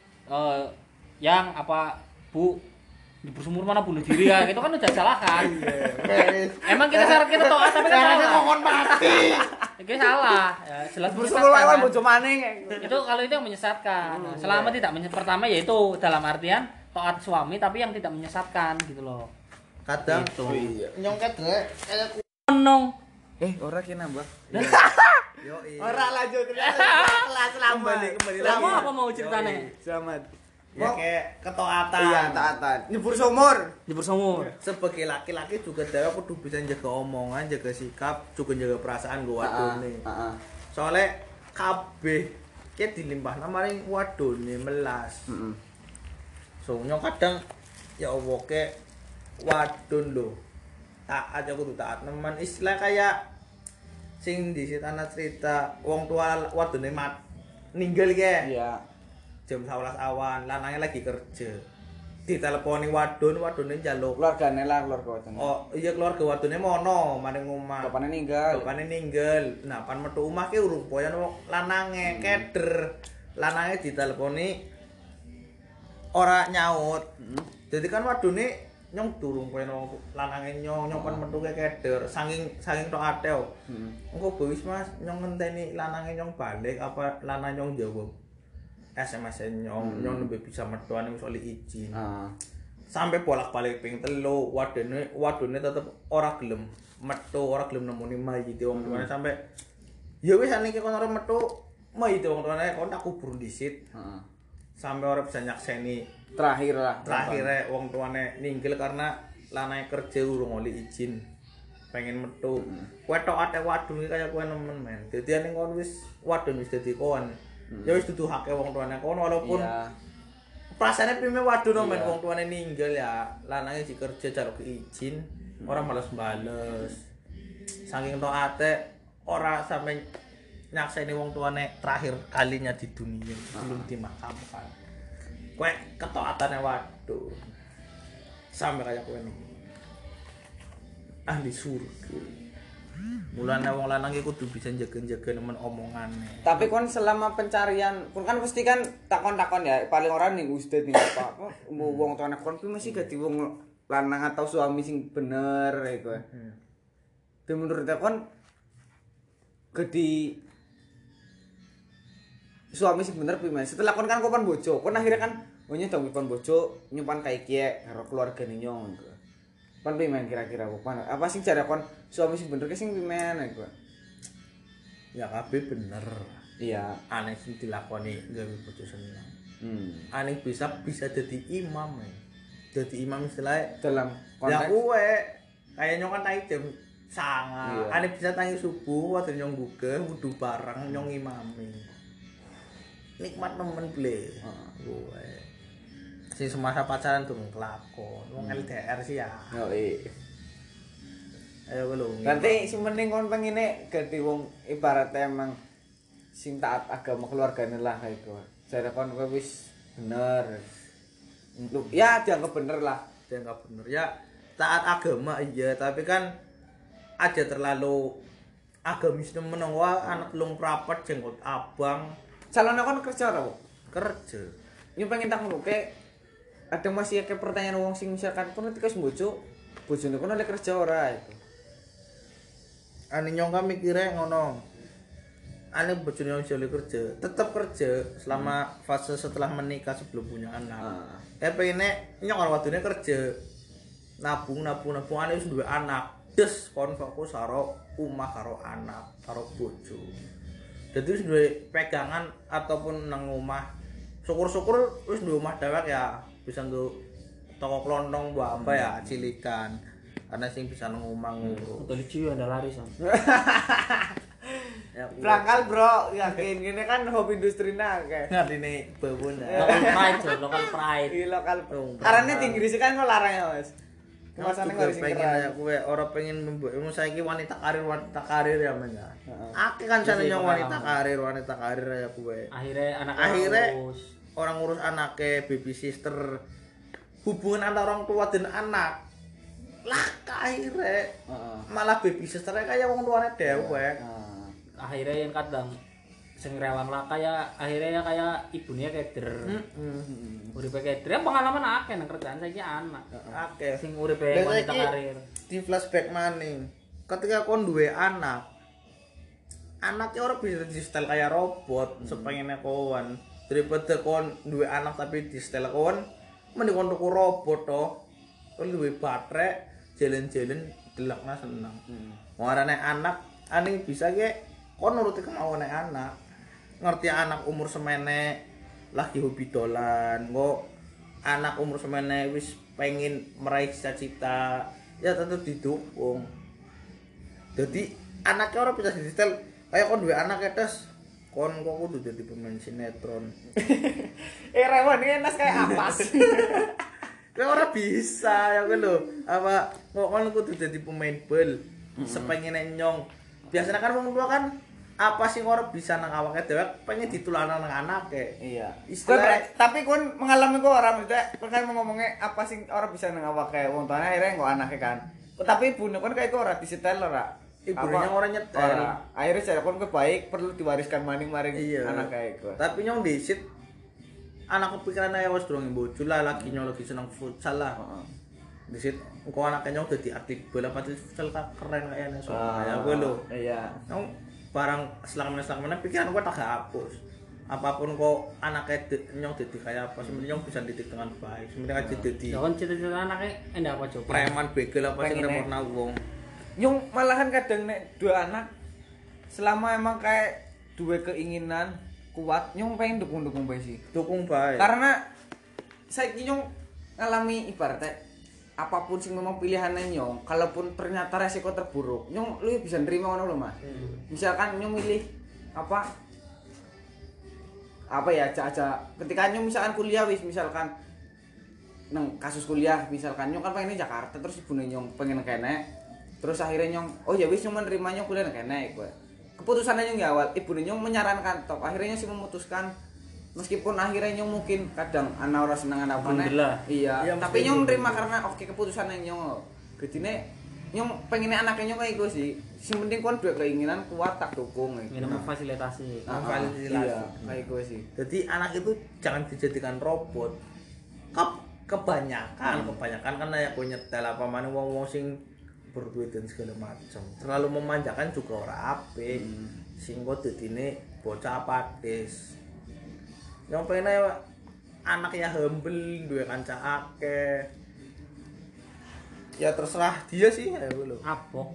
yang apa Bu di bersumur mana bunuh diri ya, itu kan udah salah kan. Emang kita syarat kita taat tapi kan salah. Mohon mati. Itu salah. Ya, jelas bersumur lawan bojo maning. Itu kalau itu yang menyesatkan. Selama tidak pertama yaitu dalam artian taat suami tapi yang tidak menyesatkan gitu loh. Kadang gitu. Nyongket kayak nong. Ora ki nambah. Yo Ora lanjut kelas kembali. Apa mau ceritanya? Selamat. Ya kayak ketaatan. Iya, taatan. Nyebur sumur. Sebagai laki-laki juga dia kudu bisa jaga omongan, jaga sikap, juga jaga perasaan gua wadone. Soalnya kabeh ki dilimpahna maring wadone melas. So nyong kadang ya Allah ke wadon lho. Taat aku tuh taat nemen istilah kayak sing di tanah cerita wong tua wadone ninggal ke. Iya. Jam 11 awan, lanangnya lagi kerja. Diteleponi wadone njaluk Keluargane lah keluarga wadon. Oh, iya keluarga wadone mono maring omah. Bapakne ninggal. Nah, pan metu omah ki urung poyan lanange keder. Lanange diteleponi ora nyaut. Jadi kan wadone nyong durung poyan lanange nyong pan metu keder. Saking tok ate. Engko wis Mas, nyong ngenteni lanange nyong balik apa lanang nyong jawab. SMS nyong nembe bisa metuane wis oleh izin. Sampai bolak-balik ping 3 wadone tetep ora gelem metu, ora gelem nemoni mayit wong tuane sampai ya wis saniki kon ora metu mayit wong tuane kon tak kubur dhisit. Sampai ora bisa nyakseni Terakhir wong tuane ninggal karena lanang kerja urung oleh izin. Pengen metu. Kowe tok ate wadon iki kaya kowe nemen men. Dadi ning kon wis wadon wis dadi kon. Ya wis dudu hake wong tuane kon walaupun perasaane pime wadon men wong tuane ninggal ya lanange dikerja jaluk izin ora males bales saking taate ora sampe nyakseni wong tuane terakhir kalinya di dunia belum dimakamkan kowe ketaatane wadon sampe kaya kowe niki ahli surga. Mulane wong lanang iki kudu bisa jaga-jaga nemen omongane. Tapi kon selama pencarian, kon kan pasti kan takon-takon ya, paling orang ning ustad ning apa wong tuane kon kuwi mesti dadi wong lanang atau suami sing bener iku. Dan menurut kon gede suami sing bener piye? Setelah kon kan kopan bojo, kon akhirnya kan nyedong kon bojo nyimpan kae kiye karo keluargane nyong. Pan pimen kira-kira apa sing jare kon suami sing bener ki sing pimen iku. Ya kabeh bener. Iya, Aneh sing dilakoni gawe bojo seneng. Aneh bisa jadi imam. Jadi imam istilahnya dalam konteks. Ya kowe kayak nyong kan tangi jam 09.00. Iya. Aneh bisa tangi subuh waktu nyong gugeh wudu bareng nyong imami. Nikmat nemen ble. Kowe. Si semasa pacaran durung kelakon. Wong LDR sih ya. Yo Ayo lho. Nanti sing penting kon pengine ganti wong ibaratnya emang sing taat agama keluargane lah iku. Jare kon kowe wis bener. Ya dianggap bener lah. Dianggap bener. Ya taat agama iya, tapi kan aja terlalu agamis nemen wah anak lung prapat jenggot abang. Calonnya kon kerja ora, Bu? Kerja. Yo pengen tak ngono ke ada masih kayak pertanyaan wong sing misalkan kon ketika bojo bojone kono oleh kerja ora itu. Ane nyong kan mikire ngono. Ane bojone yang oleh kerja, tetap kerja selama fase setelah menikah sebelum punya anak. Pengennya nyong karo wadone kerja. Nabung ane wis duwe anak. Des kon fokus karo omah karo anak, karo bojo. Dadi wis duwe pegangan ataupun nang omah. Syukur-syukur wis duwe omah dewek ya, bisa nggo toko klontong apa ya, cilikan. Ana sing bisa nang omah ngurus. Untuk lucu ada laris. Ya, berangkal bro, yakin gini kan hobi industri akeh. Ngartine babon. Local pride. Iya lokal. Karena di Inggris kan kok larang ya, Mas. Kemasannya nggak sing pengen keren. ya kowe ora pengen mbok saiki wanita karir ya men ya. Akeh kan jane nyong wanita karir ya kowe. Akhirnya orang ngurus anake, baby sister. Hubungan antara orang tua dan anak. Lah akhirnya malah baby sisternya kayak wong tuane dewek. Akhirnya yang kadang sing rewang lah kayak akhirnya ya kayak ibunya keder. Uripe keder pengalaman akeh nang kerjaan saiki anak. Akeh. Sing uripe wanita karir. Di flashback maning. Ketika kon duwe anak, anaknya orang bisa di style kayak robot, sepengennya kawan. Daripada kon duwe anak tapi di style kawan, mending kon tuku robot toh. Kon duwe baterai, jalan-jalan delakna seneng. Warane anak, ane bisa ge kon nuruti kemauan anak. Ngerti anak umur semene lagi hobi dolan, kok anak umur semene wis pengen meraih cita-cita, ya tentu didukung. Jadi anaknya orang bisa disetel, kayak kon duwe anak etes, kon kok kudu jadi pemain sinetron. Rewon ini nas kayak apa sih? Kayak orang bisa ya kan lho. Apa kok kon kudu jadi pemain bal, sepengen nyong. Biasanya kan wong tua kan apa sih orang bisa nang awake dhewe pengen ditulanan nang anake. Iya. Tapi kon mengalami kok orang maksudnya kan ngomongnya apa sih orang bisa nang awake wong tuane akhirnya kok anake kan. Tapi ibune kon kayak kok ora disetel ora. Ibune ora nyetel. Akhirnya cara kon baik perlu diwariskan maning-maring anak kayak kok. Tapi nyong disit anak kepikiran ae wis durung bojo lah lagi nyong lagi seneng futsal lah. Disit engko anaknya nyong dadi atlet bola pasti futsal keren kayaknya so. Kayak gue lho. Iya. Nyong barang selama pikiran gue tak hapus. Apapun kok anaknya nyong dadi kayak apa sebenarnya nyong bisa didik dengan baik. Sebenarnya aja dadi. Ya kan cita-cita anaknya enggak apa coba. Preman begel apa sing repotna wong. Nyong malahan kadang nek dua anak selama emang kayak dua keinginan kuat nyong pengen dukung bae sih. Dukung bae. Karena saiki nyong ngalami ibaratnya apapun sing memang pilihannya nyong, kalaupun ternyata resiko terburuk, nyong lu bisa nerima ngono lho, Mas. Misalkan nyong milih apa ya aja ketika nyong misalkan kuliah wis misalkan nang kasus kuliah misalkan nyong kan pengen Jakarta terus ibune nyong pengen kene terus akhirnya nyong oh ya wis nyong menerima nyong kuliah nang kene kowe. Keputusannya nyong di awal ibune nyong menyarankan top akhirnya sih memutuskan meskipun akhirnya nyong mungkin kadang ana ora seneng ana apa iya tapi nyong nerima karena oke keputusan yang nyong gedine nyong pengen anaknya nyong kayak gue sih sing penting kon duwe keinginan kuat tak dukung ngene memfasilitasi iya kayak gue sih jadi anak itu jangan dijadikan robot kebanyakan kan ya punya nyetel apa mana wong sing berduit dan segala macam terlalu memanjakan juga ora apik sing kok dadine bocah apatis yang pengen ya anak ya humble duwe kanca akeh ya terserah dia sih ya lu apok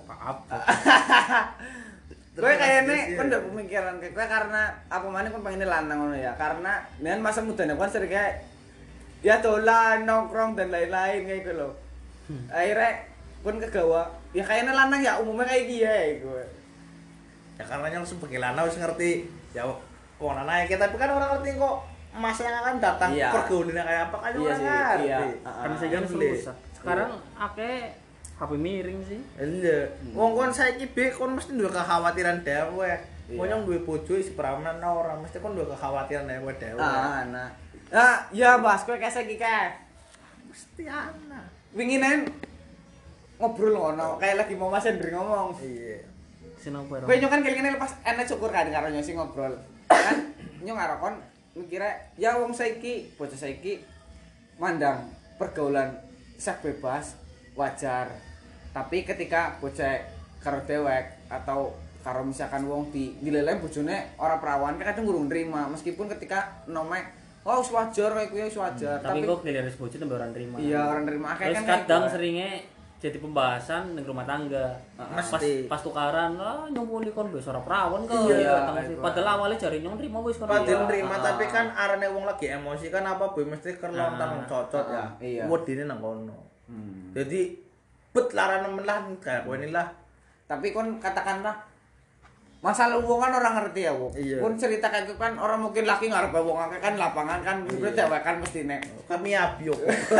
gue kayaknya kan udah pemikiran kayak gue karena apa mana kan pengen lanang ngono ya karena dengan masa mudanya kan sering kayak ya dolan nongkrong dan lain-lain kayak gitu loh akhirnya kan kegawa ya kayaknya lanang ya umumnya kayak gini ya gue ya karena yang sebagai lanang harus ngerti ya kok naik tapi kan orang ngerti kok masa yang akan datang pergaulannya kayak apa kan orang ngerti kan saya kan susah sekarang akeh HP miring sih iya wong kon saiki be kon mesti duwe kekhawatiran dhewe wong nyong duwe bojo isi perawanan ora mesti kon duwe kekhawatiran dhewe nah ya Mas kowe kayak saiki kae mesti ana winginen ngobrol ngono kayak lagi mau Mas Hendri ngomong iya sinopero kowe nyong kan kene lepas enek syukur kan karo nyong sing ngobrol kan nyong ngarokon mikire ya wong saiki bocah saiki mandang pergaulan seks bebas wajar. Tapi ketika bocah karo dewek atau karo misalkan wong dileleh bojone ora perawan kadang ngurung nrima meskipun ketika nome oh wis wajar kayak kuwi wis wajar. Tapi kok diliris bojo tembe ora nrima. Iya, ora nrima akeh kan. Kadang seringnya jadi pembahasan ning rumah tangga. Pas tukaran, nyumpuli kon wis ora perawan kok. Iya, padahal awalnya jare nyong nrimo wis kon. Padahal nrima tapi kan arane wong lagi emosi kan apa boy mesti kerlontan cocot ya. Wedine nang kono. Jadi bet larane melah kayak kowe lah. Tapi kon katakanlah masalah hubungan orang ngerti ya, Bu. Pun cerita kayak gitu kan orang mungkin laki ngarep wong akeh kan lapangan kan udah dewek kan mesti nek. Kami abyo.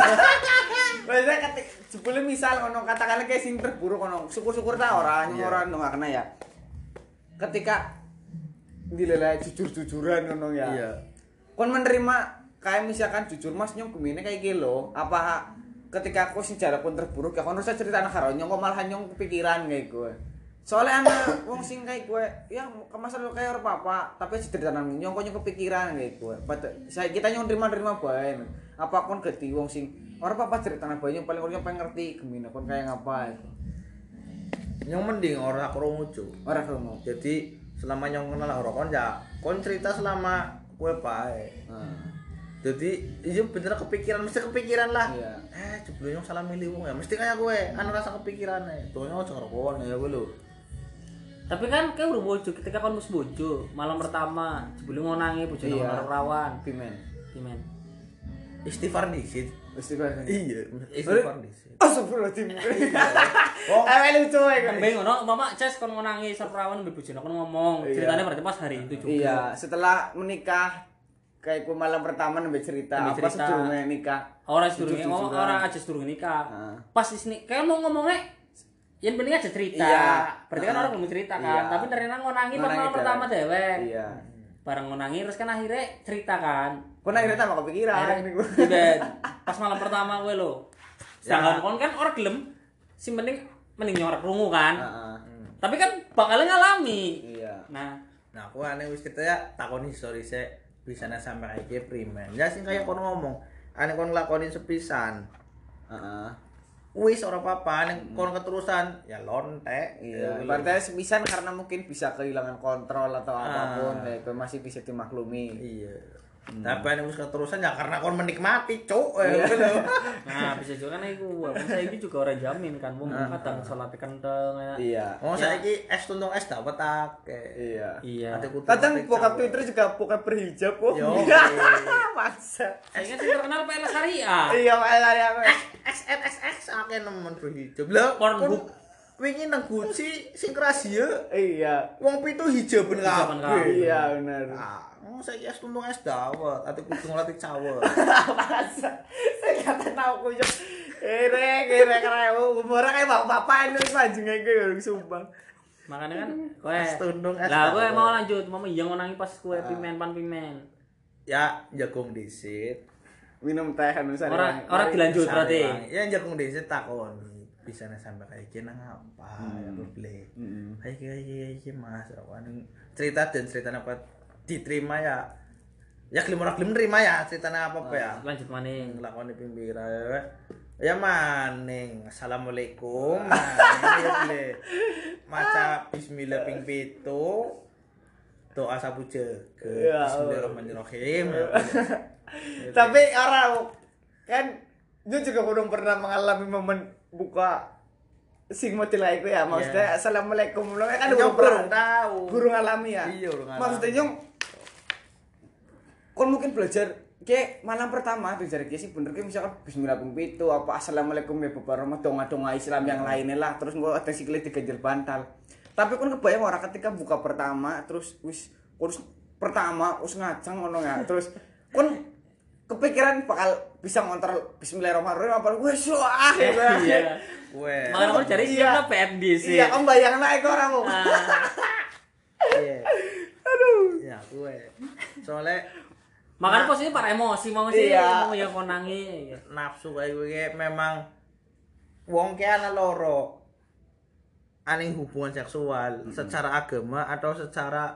Biasanya sebelum misal ngono katakanlah kayak sing terburuk ngono, syukur-syukur ta ora nggak kena ya. Ketika dileleh jujur-jujuran ngono ya. Iya. Kon menerima kayak misalkan jujur Mas nyong gemine kayak gitu lho, apa ketika aku sing jare pun terburuk ya kon harus cerita anak karo nyong kok malah nyong kepikiran kayak gue. Soalnya anak wong sing kayak gue ya kemasan kayak orang papa tapi cerita nang nyong kok nyong kepikiran kayak gue. Saya kita nyong terima bae. Apa kon geti wong sing orang papa cerita nang bae nyong paling orang pengen ngerti gemine kon kayak ngapa. Nyong mending ora krungu cu. Ora krungu. Jadi selama nyong kenal karo kon ya kon cerita selama gue bae. Jadi iya bener kepikiran mesti kepikiran lah. Iya. Jebule nyong salah milih wong ya mesti kayak gue anu rasa kepikiran tuh nyong aja karo kon ya gue lho. Tapi kan kayak udah bojo ketika kon mus bojo malam pertama jebule ngonangi bojone karo rawan pimen. Istighfar dikit. Iya, istighfar dikit. Astagfirullahaladzim. Oh, lucu kan. Beng ngono, mama Ces kon ngonangi sarprawan mbek bojone kon ngomong. Ceritanya berarti pas hari itu juga. Iya, setelah menikah kayak ku malam pertama nembe cerita apa sedurunge nikah. Ora sedurunge ora aja sedurunge nikah. Pas isni kayak mau ngomongnya yang penting aja cerita. Berarti kan orang belum cerita kan. Tapi ternyata ngonangi pas malam pertama dewek. Iya. Bareng ngonangi terus kan akhirnya cerita kan. Kon akhirnya tambah kepikiran niku. Pas malam pertama gue lo. Sedangkan kon kan orang gelem sing penting nyorak krungu kan. Tapi kan bakal ngalami. Iya. Nah, aku aneh wis kita ya takoni story se bisa sampai kayak primen. Ya sing kayak kon ngomong, aneh kon nglakonin sepisan. Wis ora apa-apa, nek kon keterusan ya lontek. Iya. Berarti sepisan karena mungkin bisa kehilangan kontrol atau apapun, ya itu masih bisa dimaklumi. Iya. Tapi nek wis keterusan ya karena kon menikmati, cuk. Nah, bisa juga kan iku. Saiki juga ora jamin kan wong kadang salat kenteng ya. Iya. Oh, saiki es tuntung es dapat akeh. Iya. Kadang bokap Twitter juga bokap berhijab kok. Maksa. Saiki sing terkenal PL Syariah. Iya, PL Syariah. XXX akeh nemen berhijab. Lah, Pornhub wingi nang Gucci sing rahasia. Iya. Wong pitu hijaben kabeh. Iya, bener. Saiki es tuntung es dawet, ati kudu ngelatih cawet. Masa. Saya kata tahu kuyuk. Kira umur kayak bapak ini panjang kayak sumpah. Makanya kan kowe es tundung es. Lah kowe mau lanjut, mau yang ngonangi pas kowe pimen. Ya jagung disit. Minum teh anu sare. Ora dilanjut berarti. Ya jagung disit takon. Bisa sampai kayak gini ngapa ya boleh. Iki Mas, cerita dan cerita apa diterima ya gelem ora gelem nerima ya ceritanya apa ya lanjut maning nglakoni pinggiran ya maning assalamualaikum maning maca bismillah ping 7 doa sabu jaga bismillahirrahmanirrahim. Tapi orang kan dia juga belum pernah mengalami momen buka sing model itu ya maksudnya assalamualaikum kan belum tahu burung alami ya. Iya, maksudnya nyong kon mungkin belajar kayak malam pertama tuh jadi sih bener kayak misalkan bismillah ping 7 apa assalamualaikum ya bapak donga Islam yang lainnya lah terus gua ada sikile diganjel bantal. Tapi kon kebayang orang ketika buka pertama terus wis pertama wis ngajang ngono ya terus kon kepikiran bakal bisa ngontrol bismillahirrahmanirrahim apa wis iya. Weh. Malah kon cari siapa PMD sih. Iya, om bayangna iku ora mau. Iya. Aduh. Ya, gue. Soalnya makanya posisi para emosi mau sih mau yang konangi nafsu kayak gue memang wong ki ana loro aning hubungan seksual secara agama atau secara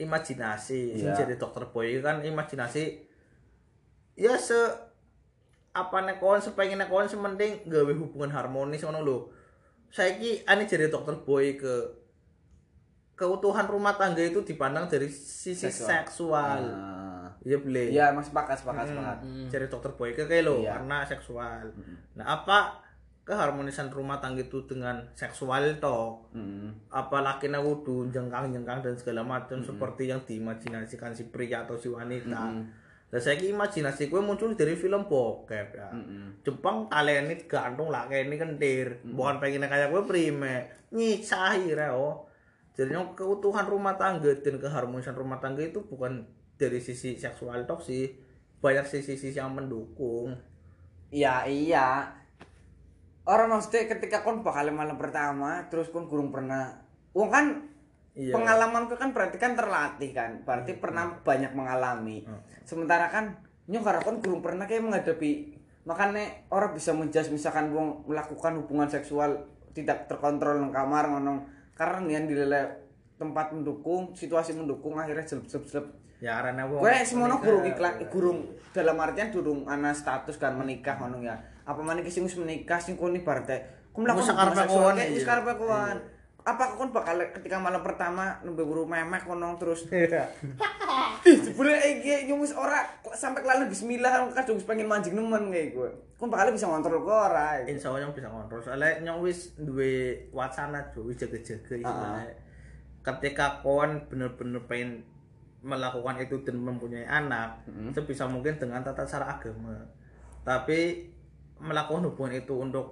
imajinasi. Sing jadi dokter boy kan imajinasi ya apa nek kon sepengin nek kon sementing gawe hubungan harmonis ngono lho. Saiki ane jare dokter Boy keutuhan rumah tangga itu dipandang dari sisi seksual. Iya boleh. Iya, Mas sepakat. Jare dokter Boy kayak lho Iya. karena seksual. Nah, apa keharmonisan rumah tangga itu dengan seksual toh? Apa lakinya kudu jengkang-jengkang dan segala macam seperti yang diimajinasikan si pria atau si wanita. Dan saya imajinasi gue muncul dari film bokep ya. Jepang talent gantung lah kayak ini kentir. Bukan pengen kayak gue prime. Nyisahi reo. Jadi keutuhan rumah tangga dan keharmonisan rumah tangga itu bukan dari sisi seksual tok sih. Banyak sisi-sisi yang mendukung. Iya. Orang maksudnya ketika kon bakal malam pertama terus kon kurang pernah. Wong kan iya. Pengalamanku kan berarti kan terlatih kan. Berarti pernah banyak mengalami. Sementara kan nyong kon kurang pernah kayak menghadapi, makanya orang bisa menjudge misalkan wong melakukan hubungan seksual tidak terkontrol nang kamar ngono karena nian dilele tempat mendukung, situasi mendukung akhirnya jelep. Ya arane wong. Kowe semono gurung dalam artian durung ana status kan menikah ngono ya. Apa maneh ki sing wis menikah sing kon ibarate ku melakukan hubungan seksual wis karepe kowan. Apa kon bakal ketika malam pertama nembe buru memek ngono terus. Iya. Jebule iki nyumus ora sampai kelalen bismillah kadung wis pengen manjing nemen kayak gue. Kon bakal bisa ngontrol kok ora. Insyaallah nyong bisa ngontrol. Soalnya nyong wis duwe wacana wis jaga-jaga istilahnya. Ketika kon bener-bener pengen melakukan itu dan mempunyai anak, sebisa mungkin dengan tata cara agama. Tapi melakukan hubungan itu untuk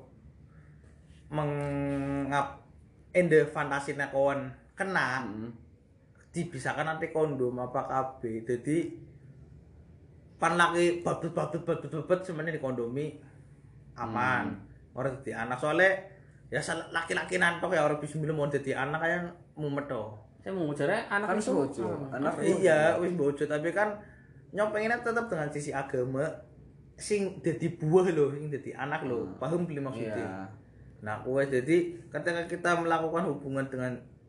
ende fantasina kawan kena dibisakan nanti kondom apa KB jadi pan lagi babet sebenarnya di kondomi aman orang jadi anak soalnya ya laki-laki nantok ya orang bismillah mau jadi anak kayak mumet toh saya mau ngujarnya anak kan itu anak iya wis bojo tapi kan nyong pengennya tetap dengan sisi agama sing jadi buah loh sing jadi anak loh paham beli maksudnya yeah. Nah, jadi ketika kita melakukan hubungan dengan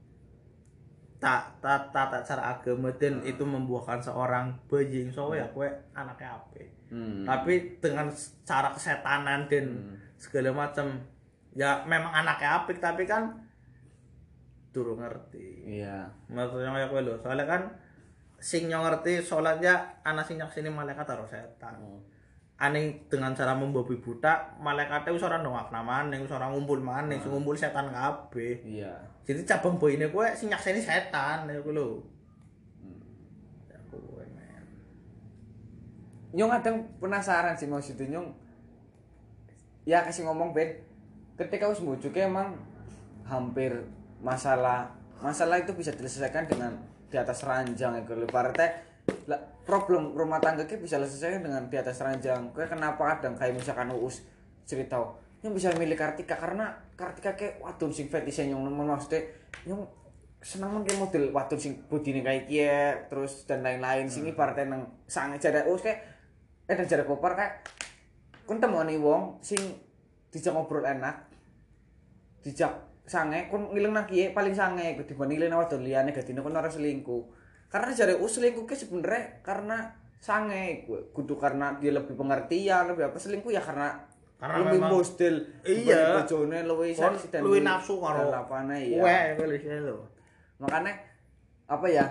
tata cara agama dan itu membuahkan seorang bayi, soalnya ya kue anaknya apa? Tapi dengan cara kesetanan dan segala macam, ya memang anaknya apik tapi kan durung ngerti. Iya. Maksudnya kayak kue lo, soalnya kan sing ngerti sholatnya anak sing nyaksini malaikat harus setan. Aneh dengan cara membabi buta malaikatnya wis ora ndongak namane wis ora ngumpul maneh sing ngumpul setan kabeh. Iya. Jadi cabang boine kowe sing nyakseni setan ya kuwi lho. Ya kowe men. Nyong kadang penasaran sih maksudnya nyong. Ya kasih ngomong Ben. Ketika wis mbojoke emang hampir masalah itu bisa diselesaikan dengan di atas ranjang ya kalau partai problem rumah tangga kita bisa selesai dengan di atas ranjang. Kayak kenapa kadang kayak misalkan Uus cerita yang bisa milih Kartika karena Kartika kayak wadon sing fetish yang nemen maksudnya yang seneng men kayak model wadon sing budine kayak kiye terus dan lain-lain sing ibaratnya nang sange jare Uus kayak dan jare Kopar kayak kon temoni wong sing dijak ngobrol enak dijak sange kon ngiling nang kiye paling sange dibanding ngiling wadon liyane gadine kon ora selingkuh. Karena jare selingkuh ke sebenarnya karena sange kudu karena dia lebih pengertian lebih apa selingkuh ya karena lebih bostil iya bojone luwih saksi dan luwih nafsu karo lapane ya kowe lho makanya apa ya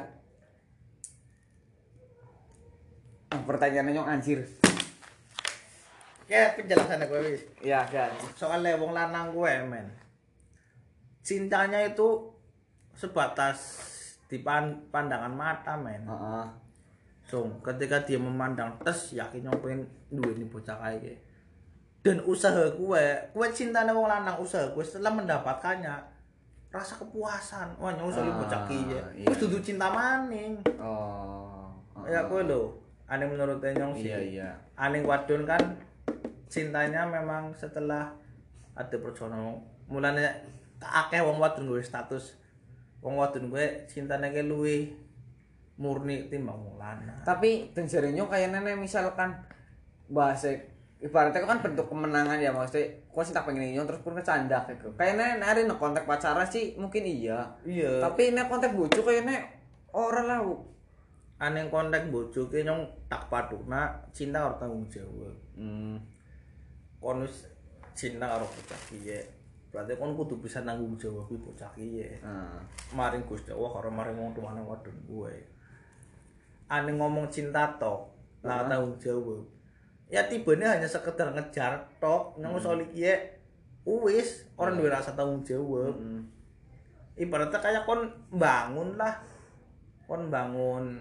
pertanyaannya nyong anjir ya penjelasannya gue wis iya kan soalnya wong lanang gue men cintanya itu sebatas di pandangan mata men. So, ketika dia memandang tes yakin yang pengen duweni bocah kayak dan usaha kue cintane wong lanang usaha kue setelah mendapatkannya rasa kepuasan wah nyong usah bocah kiye wis dudu cinta maning ya kue lho aneh menurut nyong sih iya aneh wadon kan cintanya memang setelah ada perjuangan mulanya akeh wong wadon gue status wong wadon gue cintane ke luwih murni timbang wong lanang. Tapi dan jarene kayaknya misalkan bahasa ibaratnya kan bentuk kemenangan ya maksudnya kok sih tak pengen nyong terus pun kecandak gitu. Kayaknya nari nek kontak pacaran sih mungkin iya. Tapi nek kontak bojo kayaknya ora lah. Aneh kontak bojo ke nyong tak paduna cinta harus tanggung jawab. kon wis cinta karo bocah kiye. Berarti kon kudu bisa nanggung jawab kuwi bocah kiye. Maring Gusti Allah karo maring wong tuane wadon kuwe. Ane ngomong cinta tok, lah tanggung jawab. Ya tibane hanya sekedar ngejar tok, nang soal kiye wis orang duwe rasa tanggung jawab. Ibaratnya kayak kon bangun lah. Kon bangun.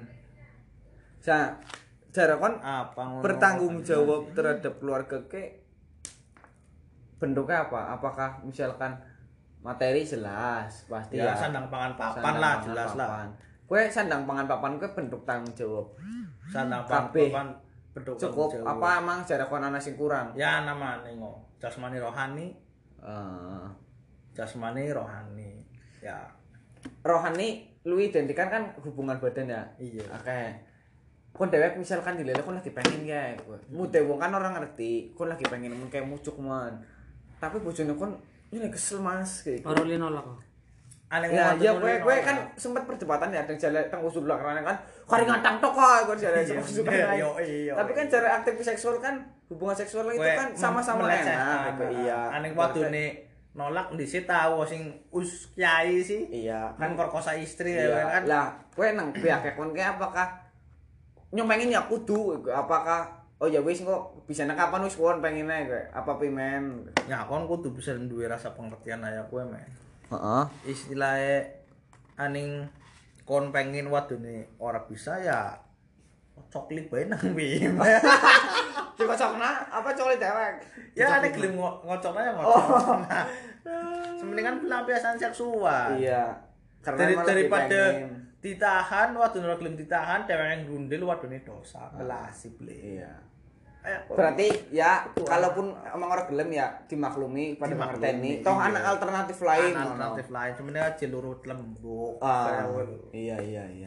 Cara kon apa bertanggung jawab terhadap keluarga ke bentuknya apa? Apakah misalkan materi jelas pasti ya sandang pangan papan lah jelas lah. Kowe sandang pangan papan kowe bentuk tanggung jawab. Sandang pangan papan bentuk cukup tanggung jawab. Apa emang cara kon ana sing kurang? Ya namane jasmani rohani. Jasmani rohani. Ya. Rohani lu identikan kan hubungan badan ya. Iya. Oke. Kon dewek misalkan dilele kon lagi pengen kae. Mude wong kan orang ngerti, kon lagi pengen men kayak mucuk man. Tapi bojone kon ini kesel Mas kayak. Ora nolak. Ya kowe kan sempat perdebatan ya jalan teng usul karena kan kari ngantang tok kok kon jalan usul. Tapi kan cara aktif seksual kan hubungan seksual itu kan sama-sama enak. Iya. Aneh wadone nolak ndise tahu sing kiai sih. Iya, kan perkosa istri iya. Ya kan. Lah, kowe nang pihak kon ki apakah nyomengin ya kudu apakah oh ya wis kok bisa nang kapan wis kon pengine kowe apa pimen. Ya kon kudu bisa duwe rasa pengertian aya kowe men. Heeh. Istilahnya aning kon pengen wadone ora bisa ya coklit bae nang bim. Dikocokna apa coklit dewek? Ya nek gelem ngocokna ya ngocok. Sementingan pelampiasan seksual. Iya. Karena daripada ditahan wadone ora gelem ditahan dewek yang grundel wadone dosa. Belasip le. Iya. Berarti ya kalaupun emang orang gelem ya dimaklumi pada mengerteni. Toh anak alternatif lain. Alternatif lain sebenarnya aja lurut lembuk. Iya.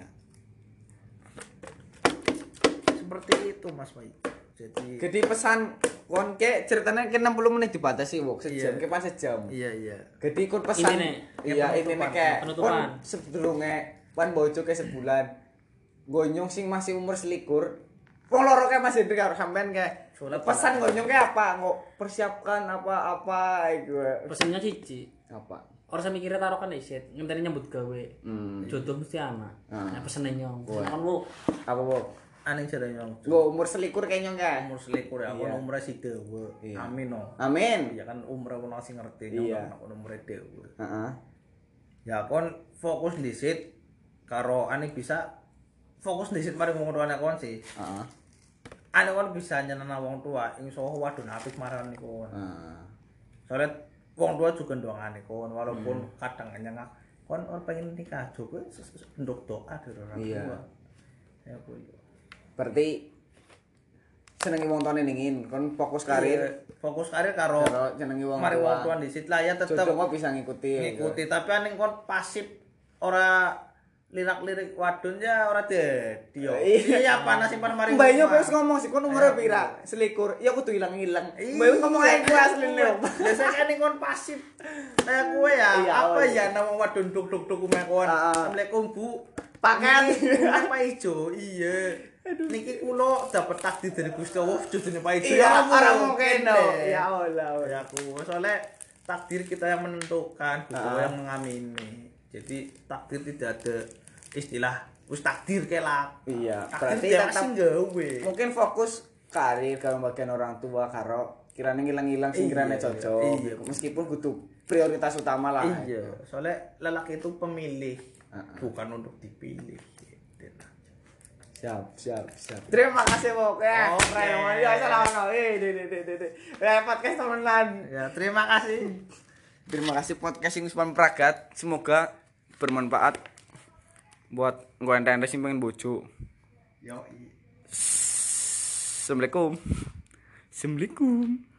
Seperti itu Mas Baik. Jadi pesan kon ke ceritanya ke 60 menit dibatasi wong sejam ke pas sejam. Iya. Jadi kon pesan iya ini kayak penutupan. Sedurunge pan bojo ke sebulan. Gonyong sing masih umur selikur. Wong loro kayak Mas Hendri karo sampean kayak pesan gonyong kayak apa? Ngok persiapkan apa-apa iku. Pesannya siji. Apa? Orang saya mikirnya taruhkan isit, ngenteni nyambut gawe. Jodoh mesti ana. Nah pesene nyong. Kan lu apa bu? Aneh jare nyong. Nggo umur selikur kayak nyong kae. Umur selikur ya, kon umure si dewe. Amin no. Amin. Ya kan umure ono sing ngerti nyong kon umure dewe. Heeh. Ya kon fokus dhisit karo aneh bisa fokus dhisit mari wong tuane kon sih. Heeh. Aneh kon bisa nyenenang wong tua, insyaallah wadon apik marani kon. Heeh. Soalnya wong tua juga doangane kon walaupun kadang nyengak kon orang pengen nikah juga ndok doa dari orang tua. Ya kuwi. Berarti senengi wong tuane ningin kon fokus karir. Fokus karir karo senengi wong mari wong tua disit lah ya tetep jodoh bisa ngikuti. Tapi aning kon pasif ora lirak-lirik wadon ya ora dadi yo. Iya panas simpan mari. Mbak Nyo wis ngomong sih kon umure pira? Selikur. Ya kudu ilang-ilang. Mbak ngomong ae kuwi asline. Biasane kan kon pasif. Kayak kowe ya. Apa ya nama wadon duk-duk kume kon. Assalamualaikum Bu. Paket apa ijo? Iya. Niki kula dapat takdir dari Gusti Allah judulnya Pak Ijo. Iya, ora mungkin no. Ya Allah. Ya aku soalnya takdir kita yang menentukan, Gusti yang mengamini. Jadi takdir tidak ada istilah wis takdir kelak. Iya, berarti tetap gawe. Mungkin fokus karir karo bagian orang tua karo kirane ngilang-ilang sing kirane cocok. Iya. Meskipun kudu prioritas utama lah. Iya, soalnya lelaki itu pemilih, bukan untuk dipilih. Siap. Terima kasih Bok. Ya, keren. Ya, salam. Podcast temenan. Ya, terima kasih. Terima kasih podcast ini Usman Pragat. Semoga bermanfaat buat ente sing pengen bojo. Yo. Assalamualaikum.